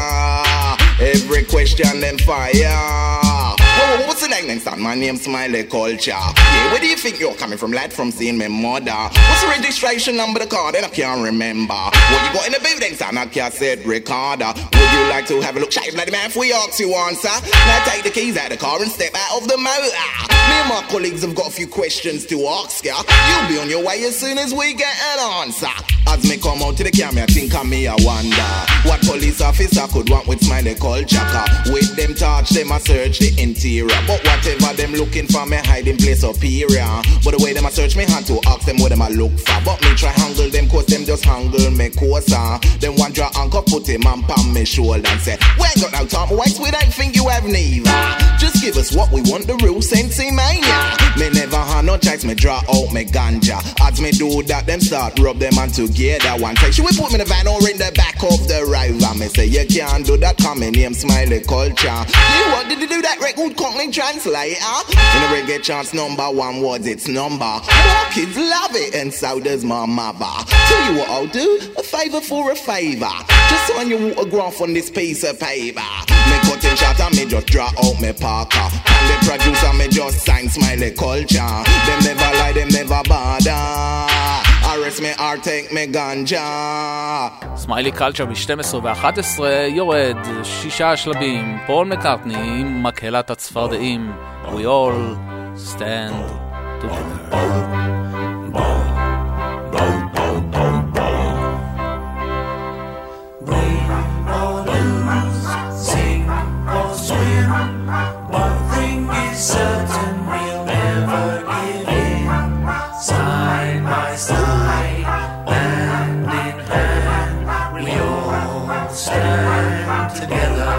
Every question them fire. Whoa, what's the name next time? My name's Smiley Culture. Yeah, where do you think you're coming from, lad? From seeing my mother. What's the registration number of the car? Then I can't remember. What you got in the building, son? I can't say recorder. Would you like to have a look? Shave bloody man, if we ask you answer. Now take the keys out of the car and step out of the motor. Me and my colleagues have got a few questions to ask ya. You'll be on your way as soon as we get an answer. As me come out to the camera, think of me, I wonder what police officer could want with Smiley Culture. With them touch, them a search the interior. But whatever them looking for, me hiding place superior. But the way them a search me hand to ask them what them a look for. But me try handle them cause them just handle me closer. Then one draw anchor put him on palm me shoulder and say, we ain't got no time to waste, we don't think you have neither. Just give us what we want, the real Sensi Mania. Me never had no chance, me draw out me ganja. As me do that, them start rub them on together. One say, should we put me in the van or in the back of the river? Me say, you can't do that, come in name Smiley Culture. You what did you do that record Cockney translator? In a reggae chance #1 words, it's number. More kids love it and so does my mother. Tell you what I'll do, a favour for a favour. Just sign your autograph on this piece of paper. Me cut in shot and me just draw out me Parker. And the producer me just sign Smiley Culture. Them never lie, them never bother. Arrest me or take me ganja. סמיילי קלצ'ר ב-12 ו-11 יורד 6 שלבים. פול מקארטני עם מקהלת הצפרדעים. We all stand together. in. One thing is certain, we'll never give in. Side by side, hand in hand, we all stand together.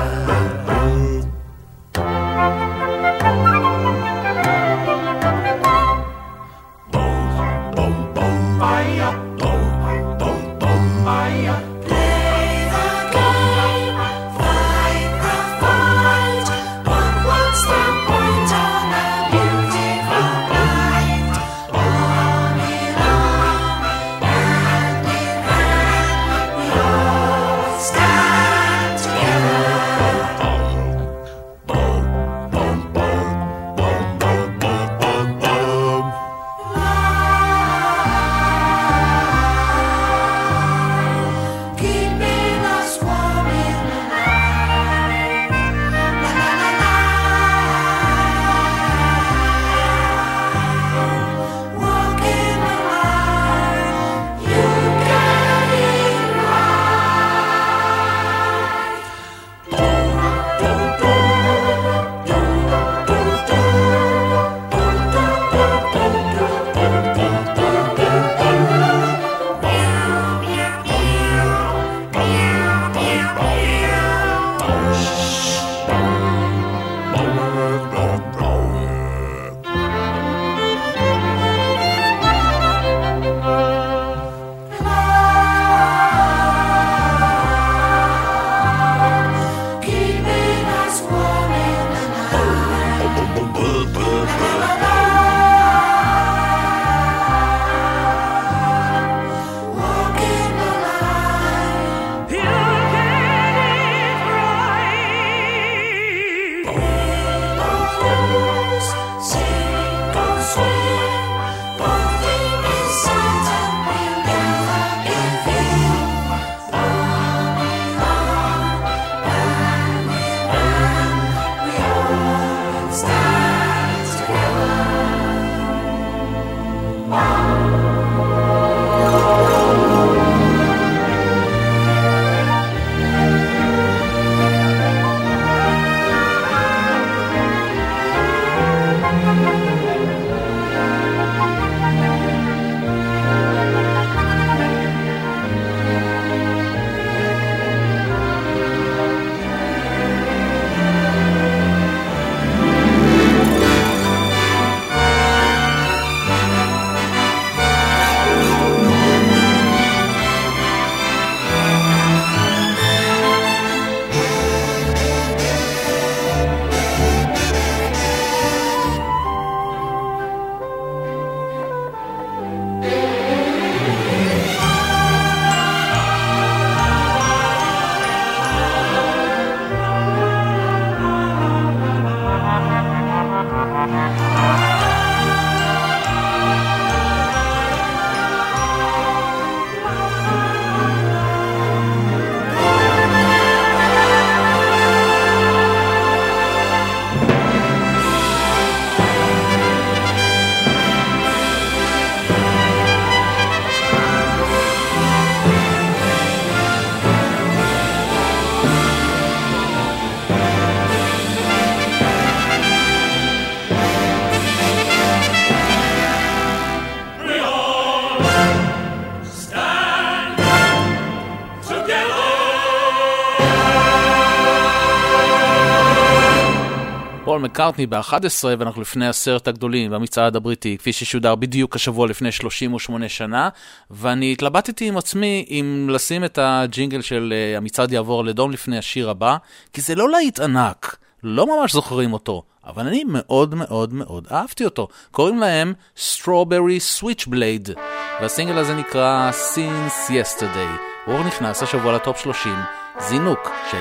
פול מקארטני ב-11, ואנחנו לפני הסרט הגדולים במצעד הבריטי, כפי ששודר בדיוק השבוע לפני 38 שנה, ואני התלבטתי עם עצמי אם לשים את הג'ינגל של המצעד יעבור לדום לפני השיר הבא, כי זה לא להיט ענק, לא ממש זוכרים אותו, אבל אני מאוד מאוד מאוד אהבתי אותו. קוראים להם Strawberry Switchblade, והסינגל הזה נקרא Since Yesterday. הוא נכנס השבוע לטופ 30, זינוק של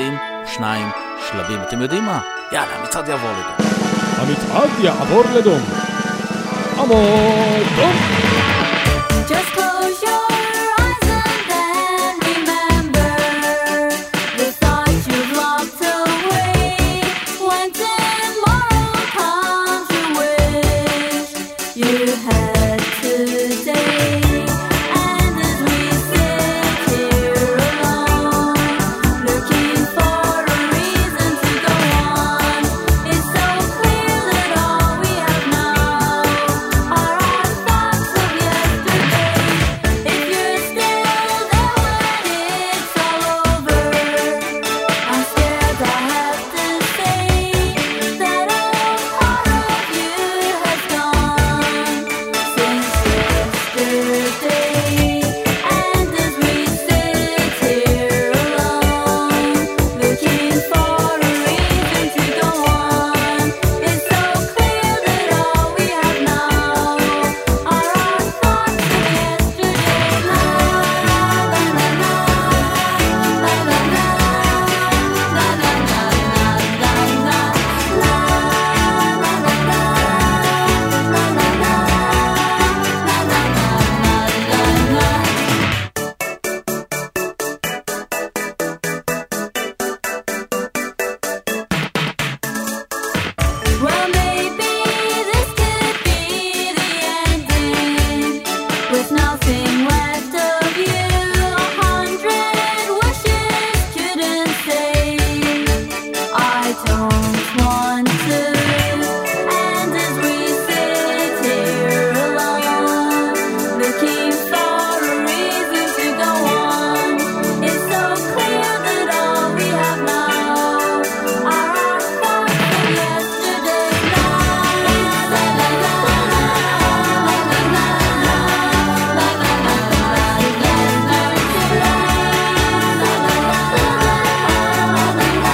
22 שלבים. אתם יודעים מה? יאללה, המצעד יעבור לדום. המצעד יעבור לדום. עמוד דום. Just close your eyes and then remember the thoughts you've locked away. When tomorrow comes, you wish you had today. And as we sit here alone, looking for a reason to go on. just want to live, and as we sit here alone, looking for a reason to go on, it's so clear that all we have now are our thoughts of yesterday's night. La la la la la la la la la la la la la. Let's learn to love. La la la la la la la la.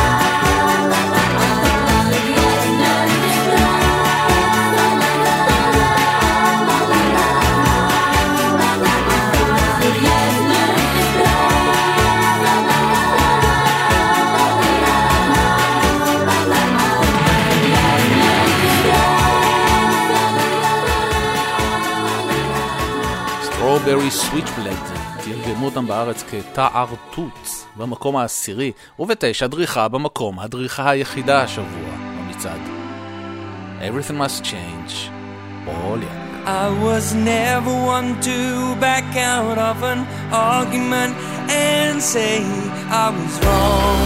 Strawberry Switchblade, תרגמו אותם בארץ כתער תות, במקום העשירי, וב-9 דריכה במקום, הדריכה היחידה השבוע במצעד. Everything must change. פול יאנג. I was never one to back out of an argument and say I was wrong.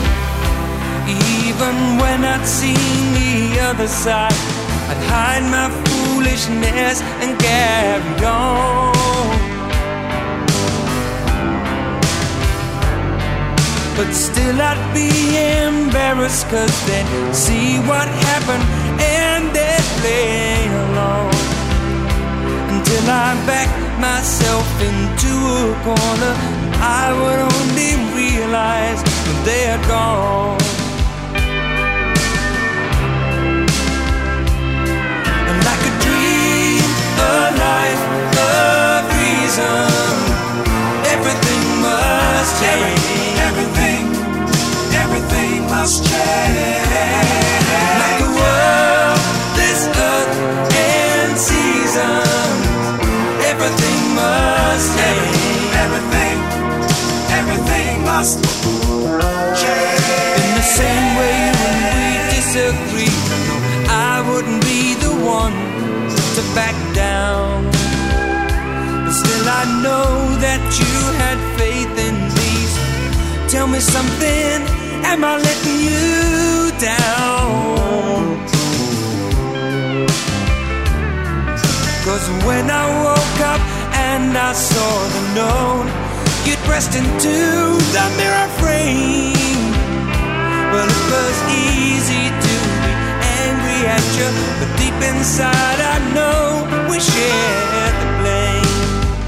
Even when I'd seen the other side, I'd hide my foolishness and carry on. But still I'd be embarrassed, 'cause they'd see what happened and they'd play along. Until I backed myself into a corner, I would only realize that they had gone. And like a dream, a life, a reason, everything must change. Everything must change. Like the world, this earth and season, everything must change. Everything must change. In the same way when we disagree, no, I wouldn't be the one to back down. But still I know that you had faith in me. Tell me something, am I letting you down? 'Cause when I woke up and I saw the note, you pressed into the mirror frame. Well, it was easy to be angry at you, but deep inside I know we shared the blame.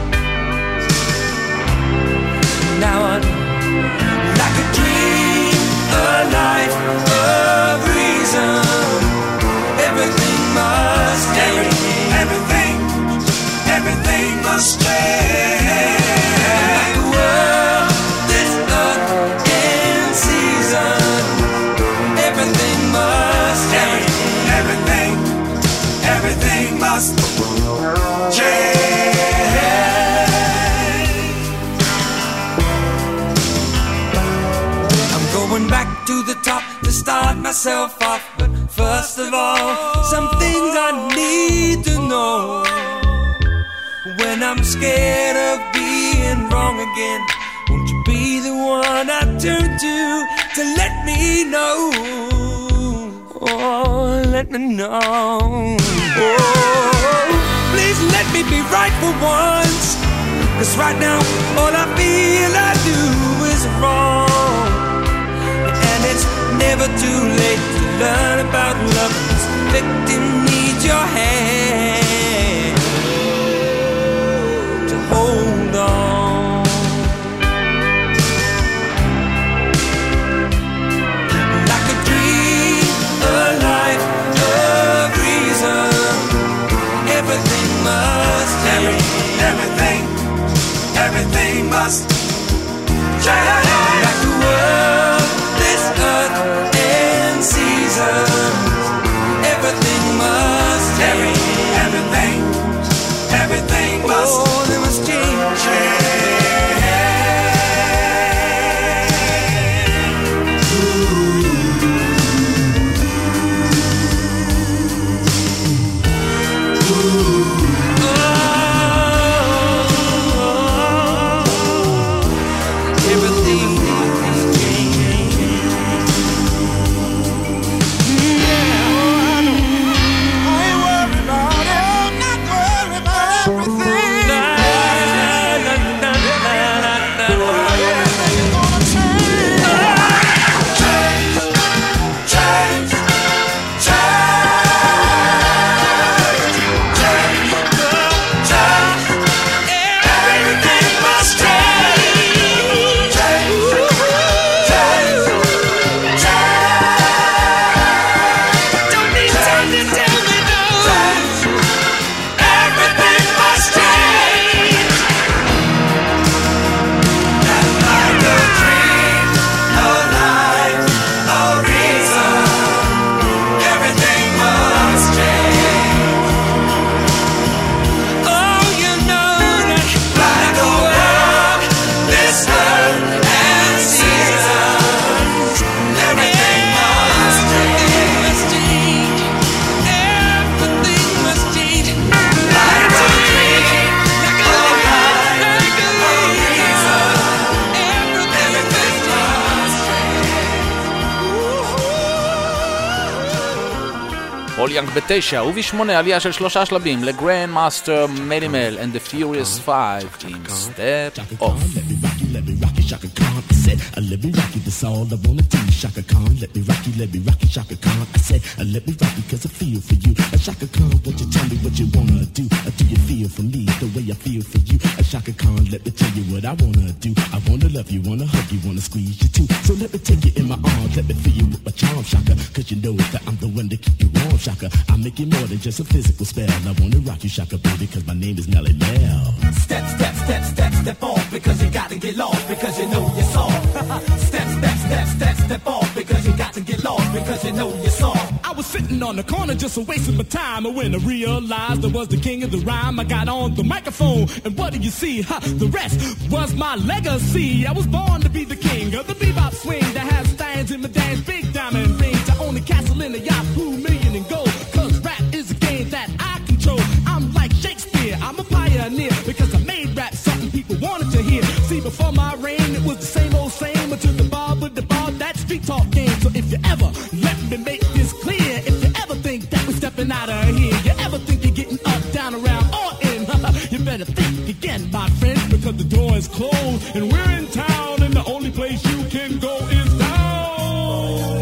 Now I'm like a dream, a life, a reason, everything must change. Everything must change. Like the world, this earth and season, everything must change. Everything must change. I'm going back to the top to start myself off, but first of all, some things I need to know. When I'm scared of being wrong again, won't you be the one I turn to let me know? Oh, let me know. Oh, please let me be right for once, 'cause right now all I feel I do is wrong. And it's never too late to learn about love. This victim needs your hand to hold on. Like a dream, a life, a reason, everything must change. Everything must change. Like the world, this earth and season, פול יאנג ב-9, וב-8 עלייה של 3 שלבים לגרנד מאסטר מלימל and the Furious 5 עם Step Off. Shaka Khan, I said, let me rock you, that's all I wanna do. Shaka Khan, let me rock you, Shaka Khan. I said, let me rock you, cause I feel for you. Shaka Khan, won't you tell me what you wanna do? Do you feel for me the way I feel for you? Shaka Khan, let me tell you what I wanna do. I wanna love you, wanna hug you, wanna squeeze you too. So let me take you in my arms, let me feel you with my charm, Shaka. Cause you know that I'm the one to keep you warm, Shaka. I make it more than just a physical spell. I wanna rock you, Shaka, baby, cause my name is Melly Mel. Step, step, step, step, step off, because you gotta get lost, because you know you're soft. Step, step, step, step, step off, because you got to get lost, because you know you're soft. I was sitting on the corner just wasting my time, and when I realized I was the king of the rhyme, I got on the microphone, and what do you see? The rest was my legacy. I was born to be the king of the bebop swing that has stands in my dance, big diamond rings. I own a castle in a Yahoo million in gold, cause rap is a game that I control. I'm like Shakespeare, I'm a pioneer, because I made rap something people wanted to hear. See, before my reign, it was the same old same, until the bar with the bar, that street talk game. So if you ever, let me make this clear, if you ever think that we're stepping out of here, you ever think you're getting up, down, around, or in, you better think again, my friend, because the door is closed, and we're in town, and the only place you can go is down.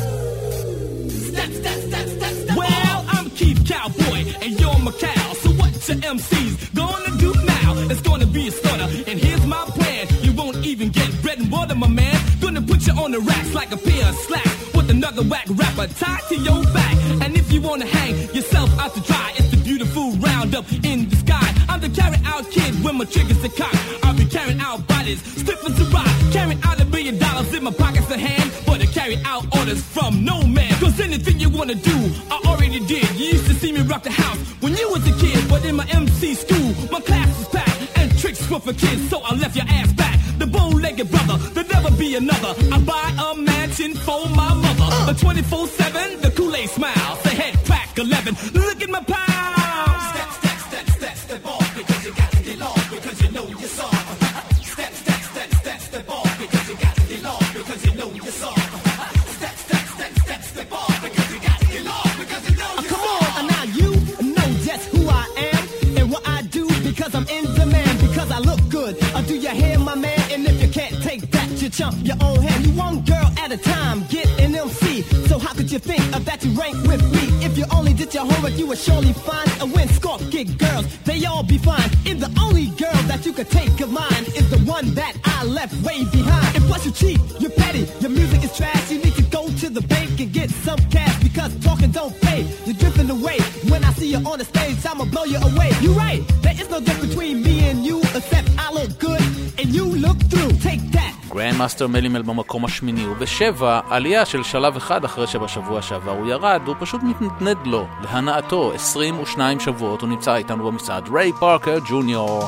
Step, step, step, step, step. Well, I'm Keith Cowboy, and you're Macau, so what's your MCs gonna do now? It's gonna be a starter, and here's my plan. You won't even get bread and water, my man. Gonna put you on the racks like a pair of slacks, with another whack rapper tied to your back. And if you wanna hang yourself out to dry, it's the beautiful roundup in the sky. I'm the carry-out kid when my triggers are cocked. I'll be carrying out bodies, stiff as a rock, carrying out $1 billion in my pockets of hand, but I carry out orders from no man. Cause anything you wanna do, I already did. You used to see me rock the house when you was a kid, but in my MC school, my class was packed, and tricks were for kids, so I left your ass back. The bow-legged brother, there'll never be another. I buy a mansion for my mother, a 24/7, the Kool-Aid smile, the head crack 11, look at my pound. Step, step, step, step, step off, because you got to get lost, because you know you're soft. Step, step, step, step, step off, because you got to get lost, because you know you're soft. Step, step, step, step, step off, because you got to get lost, because you know you're soft. Come on, now you know just who I am, and what I do, because I'm in demand, because I look good. Do you hear, my man? And if you can't take that, you chump your own hand. You one girl at a time, get an MC. So how could you think that you rank with me? If you only did your homework, you would surely find a win. Scorp get girls, they all be fine. And the only girl that you could take of mine is the one that I left way behind. And plus you cheat, you're petty, your music is trash. You need to go to the bank and get some cash, because talking don't pay. You're drifting away. When I see you on the stage, I'ma blow you away. You're right, there is no difference between me and you, except I look good and you look through. Take that. גרנד מאסטר מלימל במקום השמיני, וב-7 עלייה של שלב אחד אחרי שבשבוע שעבר הוא ירד, הוא פשוט מתנדנד לו להנאתו 22 שבועות. הוא נמצא איתנו במצעד, ריי פארקר ג'וניור,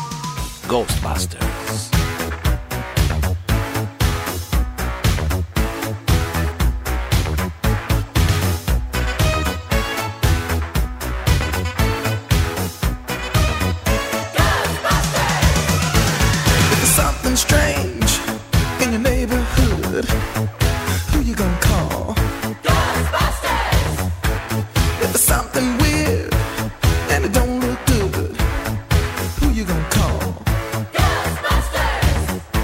Ghostbusters. Strange in your neighborhood, who you gonna call? Ghostbusters! If there's something weird and it don't look good, who you gonna call? Ghostbusters!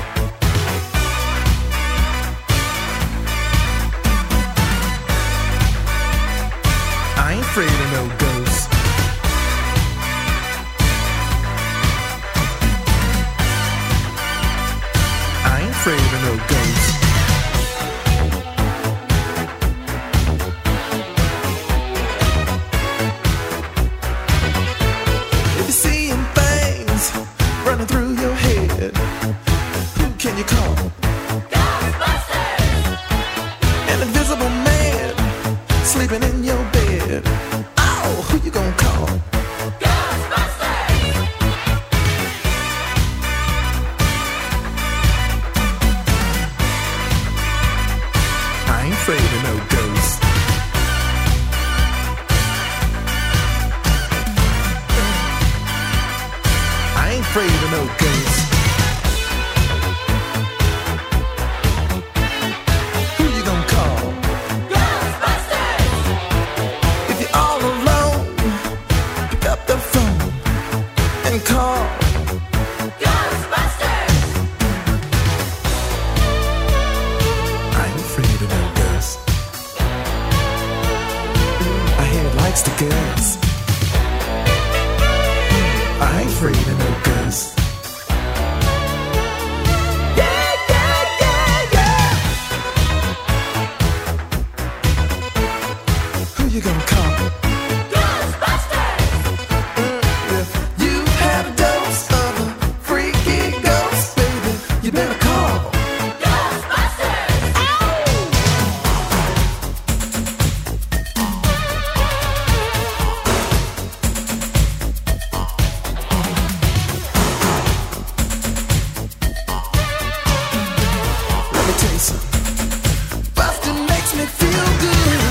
I ain't afraid of no ghosts. Afraid of no ghosts. If you're seeing things running through your head, who can you call? Ghostbusters! An invisible man sleeping in your bed. Oh, who you gonna call? Afraid of no ghosts. I ain't afraid of no ghosts. Who you gonna call? Ghostbusters! next to girls. I ain't afraid of no girls. Who you gonna call? If you had a dose of a freaky ghost, baby, you better call. Let me tell you something. Bustin' makes me feel good.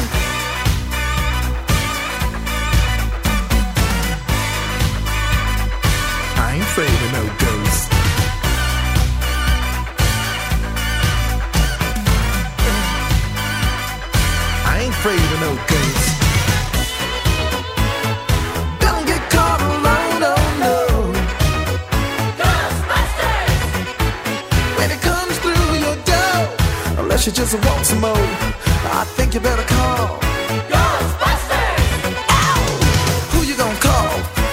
I ain't afraid of no ghosts. I ain't afraid of no ghosts. Don't get caught alone, oh no. Ghostbusters! When it comes through your door, unless you just want some more, I think you better call. Ghostbusters! Ow! Who you gonna call?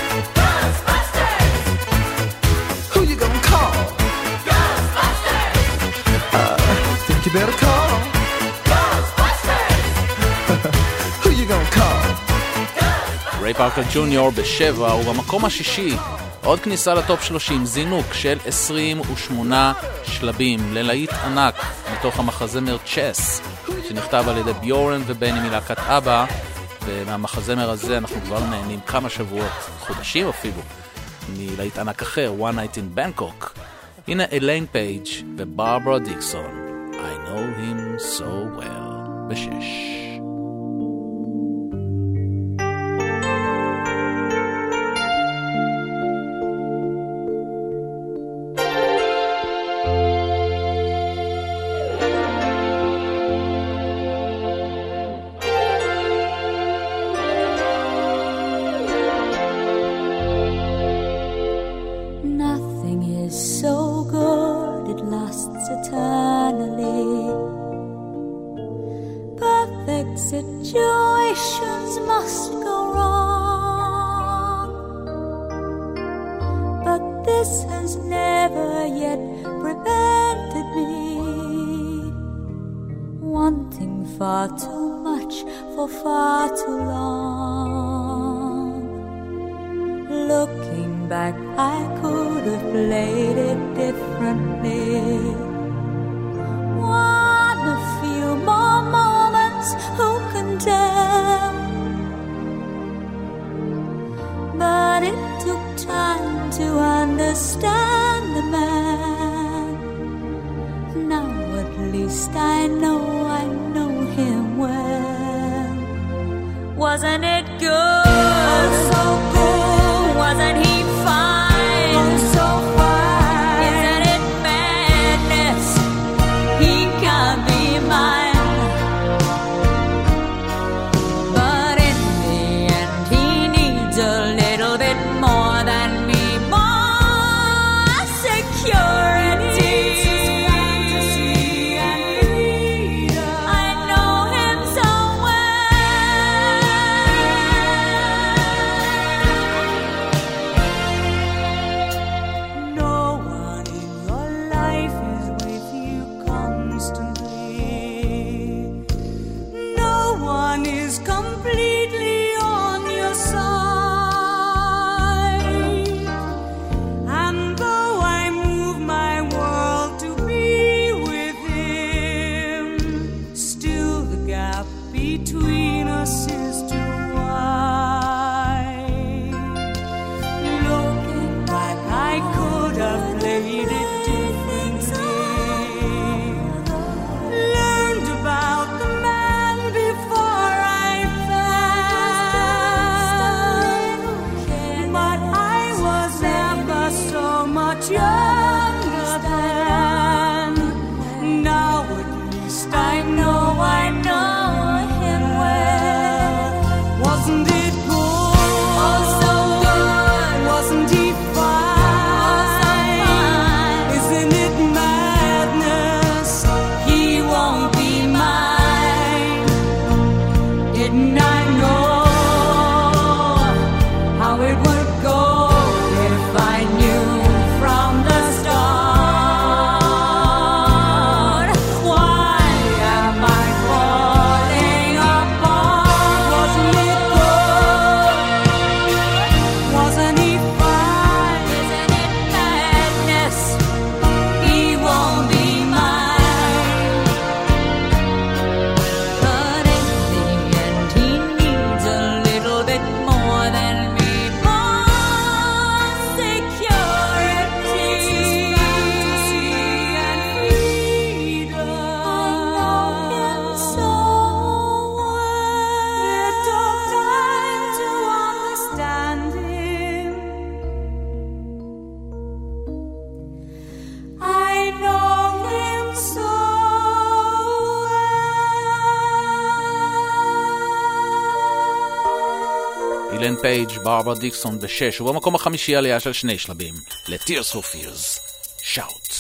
Who you gonna call? Ghostbusters! Think you better call. Ghostbusters! Who you gonna call? ריי פארקר ג'וניור בשבע, ובמקום השישי עוד כניסה לטופ 30, זינוק של 28 שלבים ללהיט ענק מתוך המחזמר צ'ס שנכתב על ידי ביורן ובני מלהקת אבא, ומהמחזמר הזה אנחנו כבר נהנים כמה שבועות, חודשים אפילו, מלהיט ענק אחר, One Night in Bangkok. הנה אליין פייג' וברברה דיקסון, I know him so well, בשש. Nothing is so good, it lasts eternally. Perfect situations must go wrong, but this has never yet prevented me wanting far too much for far too long. Looking back, I could have played it differently. Want a few more moments, who can tell? But it took time to understand the man. Now at least I know him well. Wasn't it good? So good. Wasn't he fine? Oh, so fine. Isn't it madness? He can't be mine. But in the end, he needs a little bit more than me. More security. I know him so no one in your life is with you constantly. No one is completely on your side. And though I move my world to be with him, still the gap between us is too wide. Looking back, I could have played it differently. Learned about the man before I fell. But I was never so much younger then. Now at least I know him well. Wasn't it good? Oh, so good. Wasn't he fine? Isn't it madness? He won't be mine. Didn't I know אילן פייג', ברברה דיקסון ב-6, ובמקום החמישי עלייה של 2 שלבים, ל-Tears for Fears, Shout.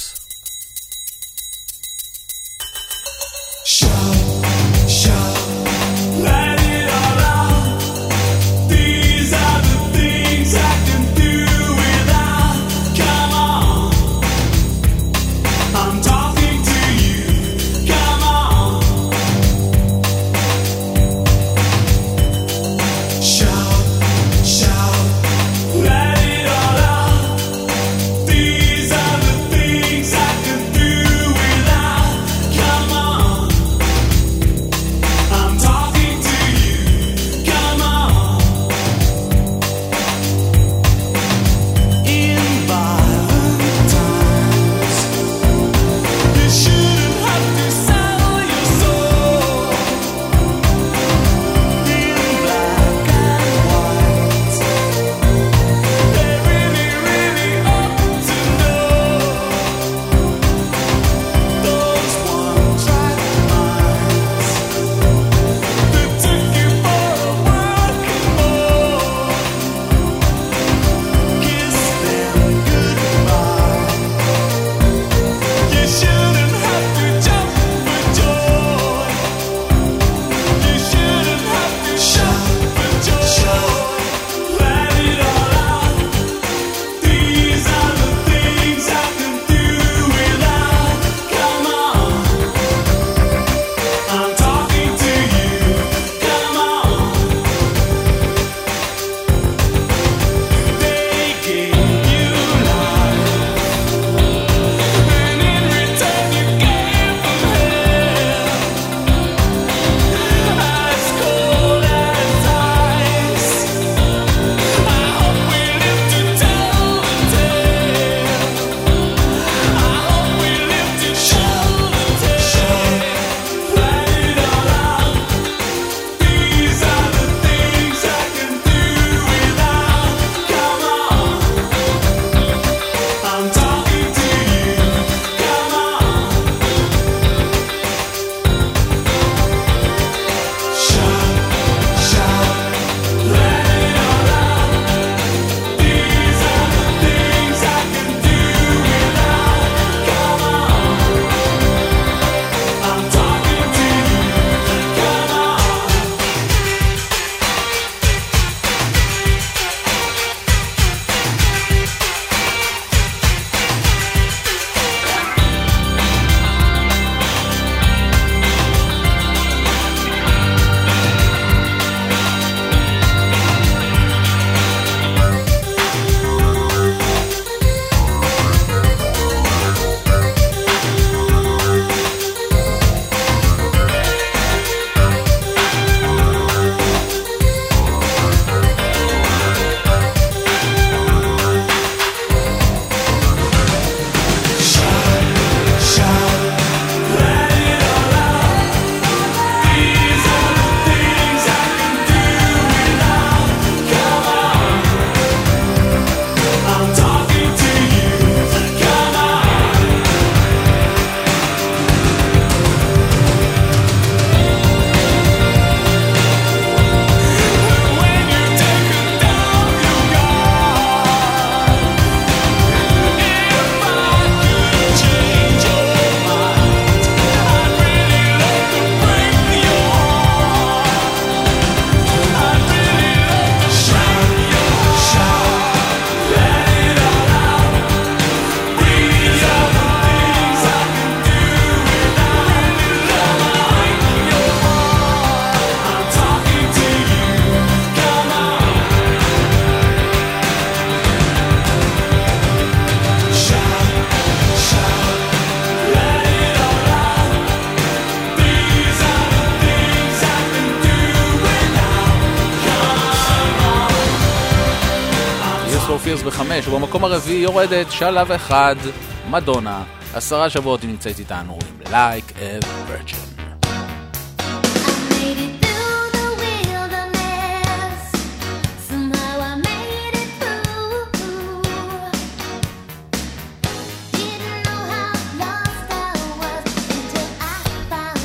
Fears ב5, ובמקום הרביעי יורדת שלב אחד, מדונה, 10 שבועות היא נמצאת איתנו עם Like a Virgin.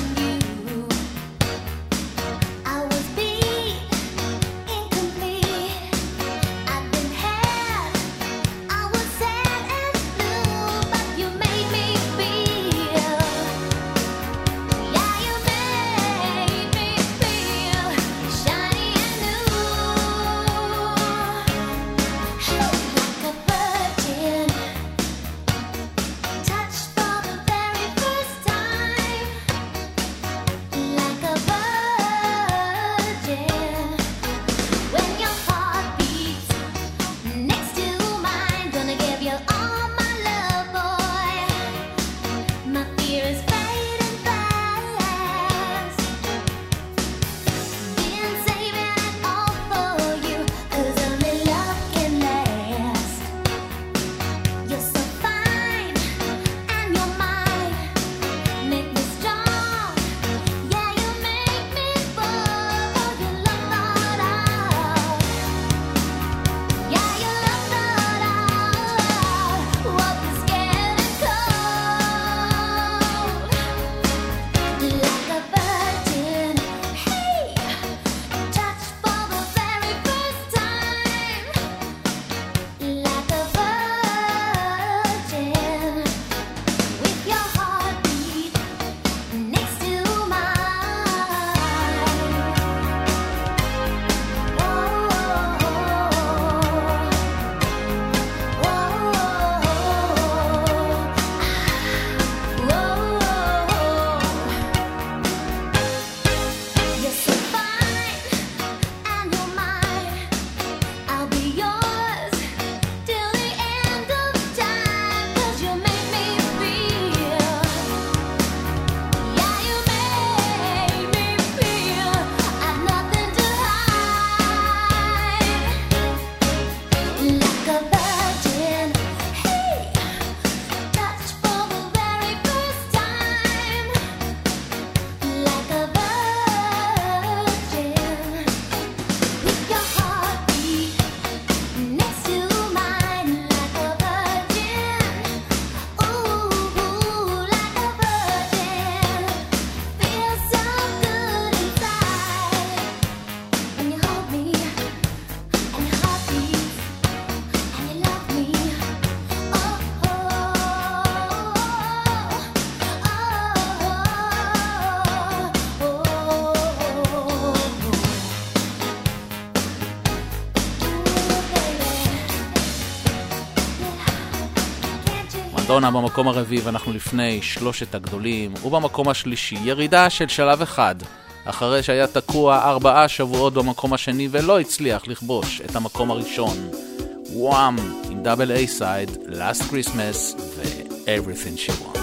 I was beat, incomplete. מדונה במקום הרביעי, ואנחנו לפני שלושת הגדולים, ובמקום השלישי ירידה של שלב אחד, אחרי שהיה תקוע 4 שבועות במקום השני ולא הצליח לכבוש את המקום הראשון. וואם עם דאבל איי סייד, Last Christmas ו-Everything She Wants.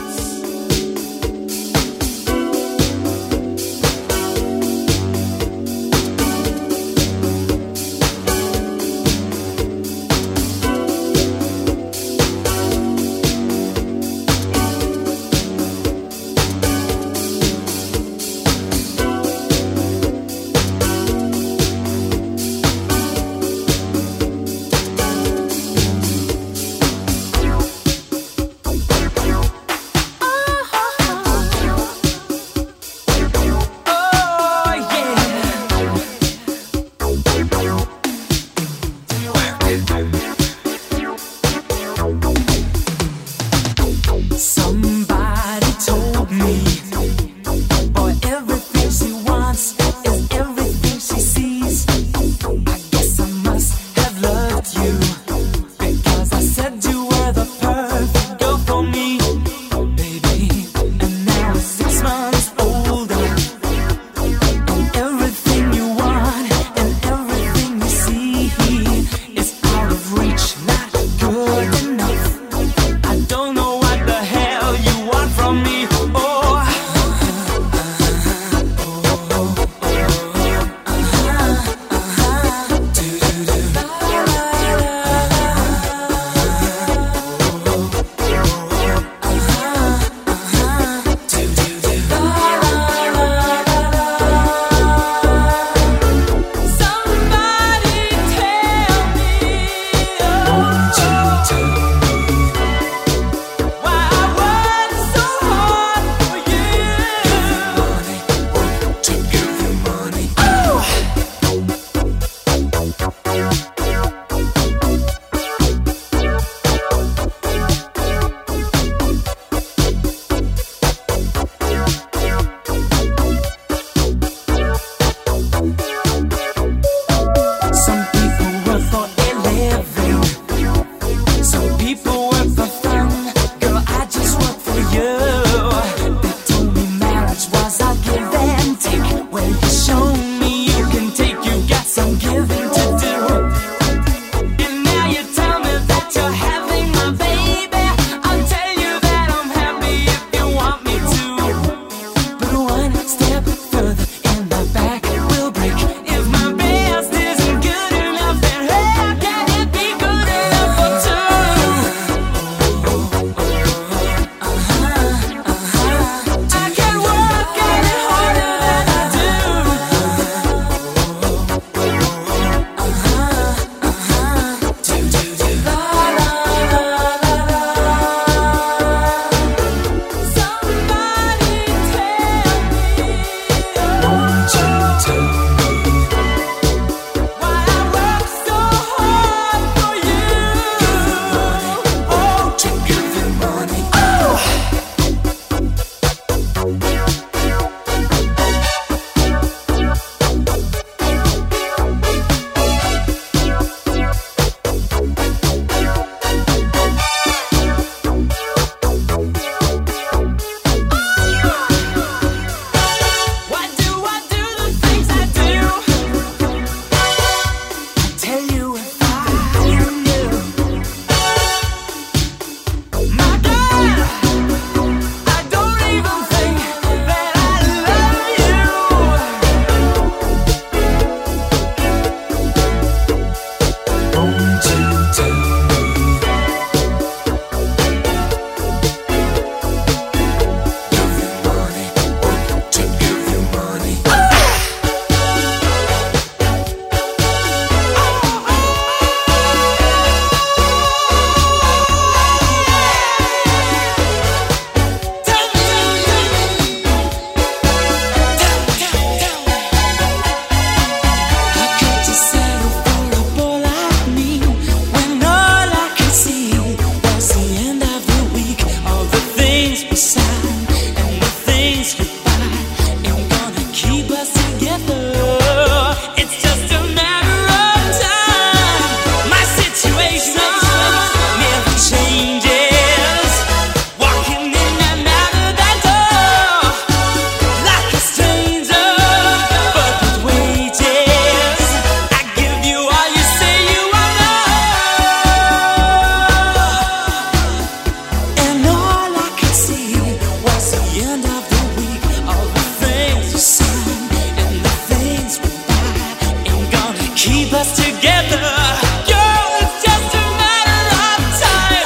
us together. Girl, it's just a matter of time.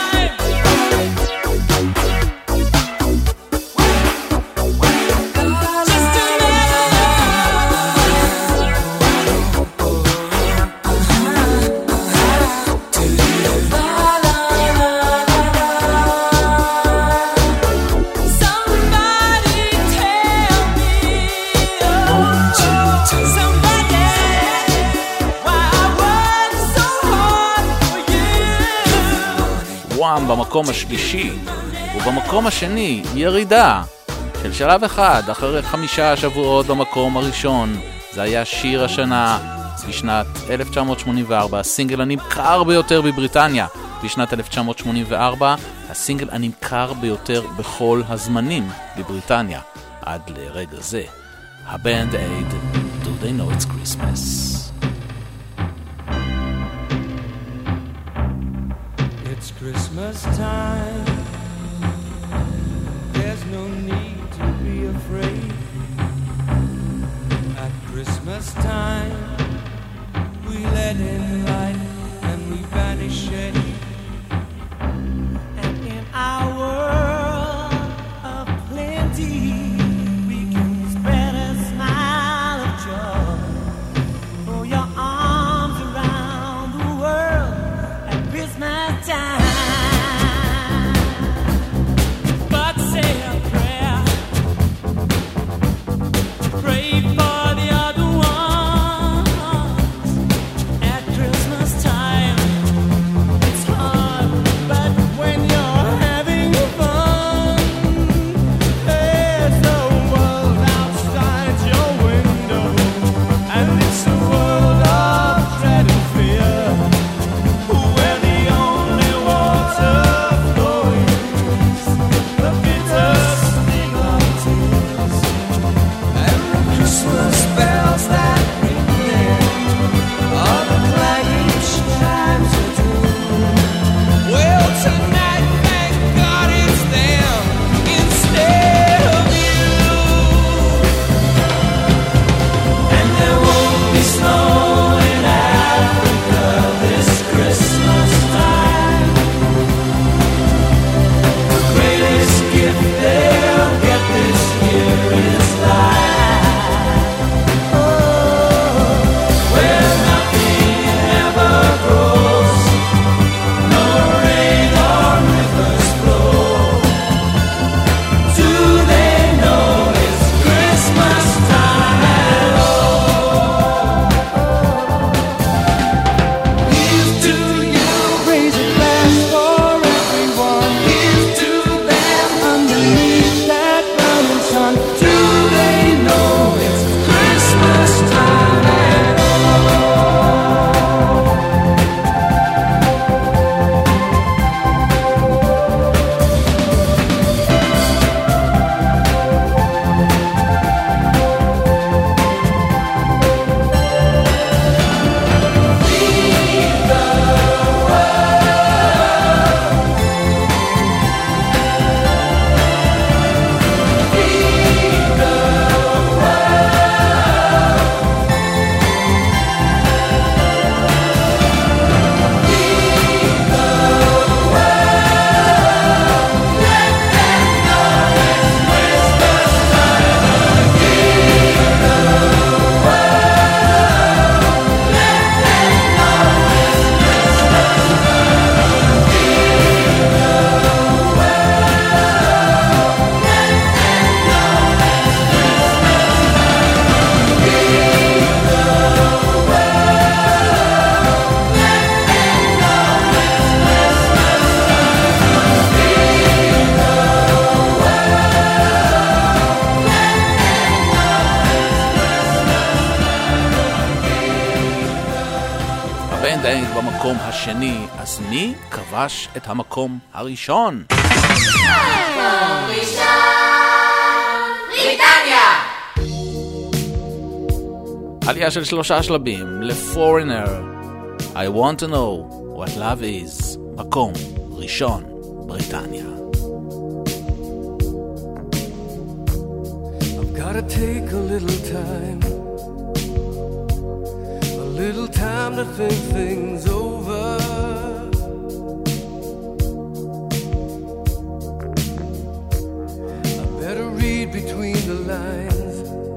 Just a Somebody tell me, somebody, why I work so hard for you. וואם במקום השלישי, ובמקום השני ירידה של שלב אחד אחרי 5 שבועות במקום הראשון. זה היה שיר השנה בשנת 1984, הסינגל הנמכר ביותר בבריטניה בשנת 1984, הסינגל הנמכר ביותר בכל הזמנים בבריטניה עד לרגע זה. הבנד אייד, Do They Know It's Christmas. It's Christmas time. There's no need to be afraid. At Christmas time, we let in light and we banish shade. And in our world of plenty, we can spread a smile of joy. Throw your arms around the world at Christmas time. But say a prayer, pray for the other ones. At Christmas time, it's hard, but when you're having fun, there's a world outside your window, and it's a world of dread and fear, where the only water flowing is the bitter sting of tears, And the Christmas bells that ring there are the clanging chimes of doom. Well, tonight, thank God it's them instead of you. and there won't be snow in Africa this Christmas time. The greatest gift they'll get this year is life. Where nothing ever grows, no rain or rivers flow. Do they know it's Christmas time at all? Here's to you, raise a glass for everyone. Here's to them underneath that mountain sun. Do they know it's Christmas time at all? הבנד אייד במקום השני, אז מי כבש את המקום הראשון? בריטניה! עלייה של 3 שלבים ל-Foreigner, I want to know what love is, מקום ראשון, בריטניה. I've gotta take a little time time to think things over. I better read between the lines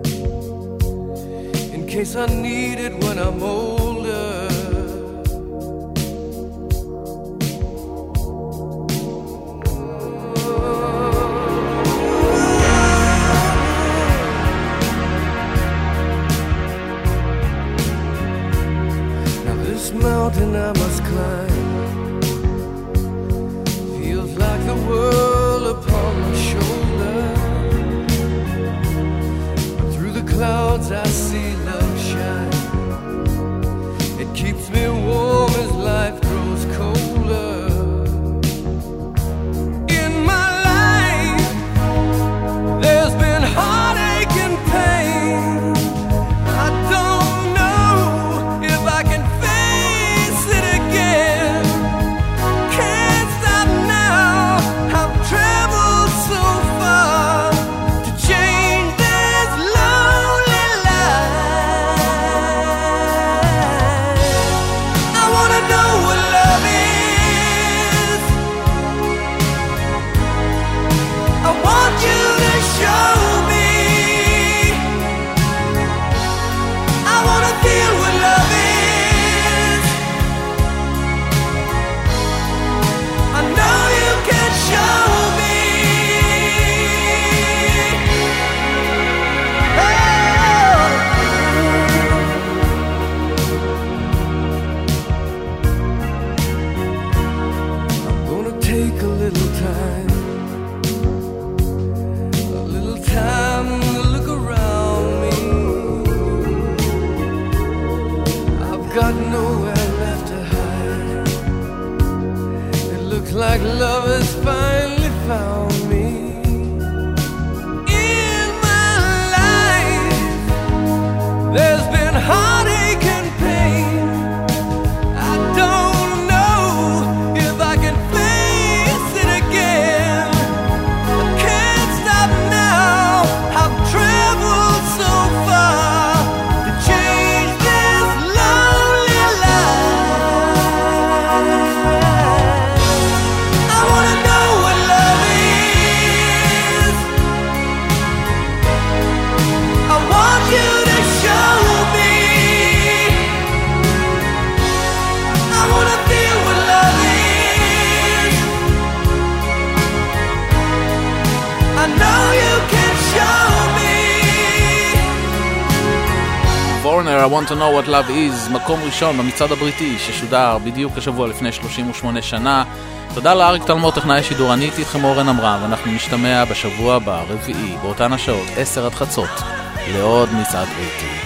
in case I need it when I'm older. Mountain I must climb feels like the world upon my shoulder. But through the clouds I see love shine. It keeps me warm as life grows colder. In my life there's been heartache and pain. I don't know if I can like love has finally found me. In my life there's been heartache and pain. I don't know if I can face it again. I can't stop now. I've traveled so far to change this lonely life. I wanna know what love is. I want you to show me. I wanna feel what love is. I know you can show me. Foreigner, I want to know what love is, מקום ראשון במצעד הבריטי ששודר בדיוק השבוע לפני 38 שנה. תודה לאריק תלמור, טכנאי השידור. אני איתי איתכם אורן עמרם, ואנחנו נשתמע בשבוע הבא, רביעי, באותן השעות, 10 עד חצות, לעוד מצעד בריטי.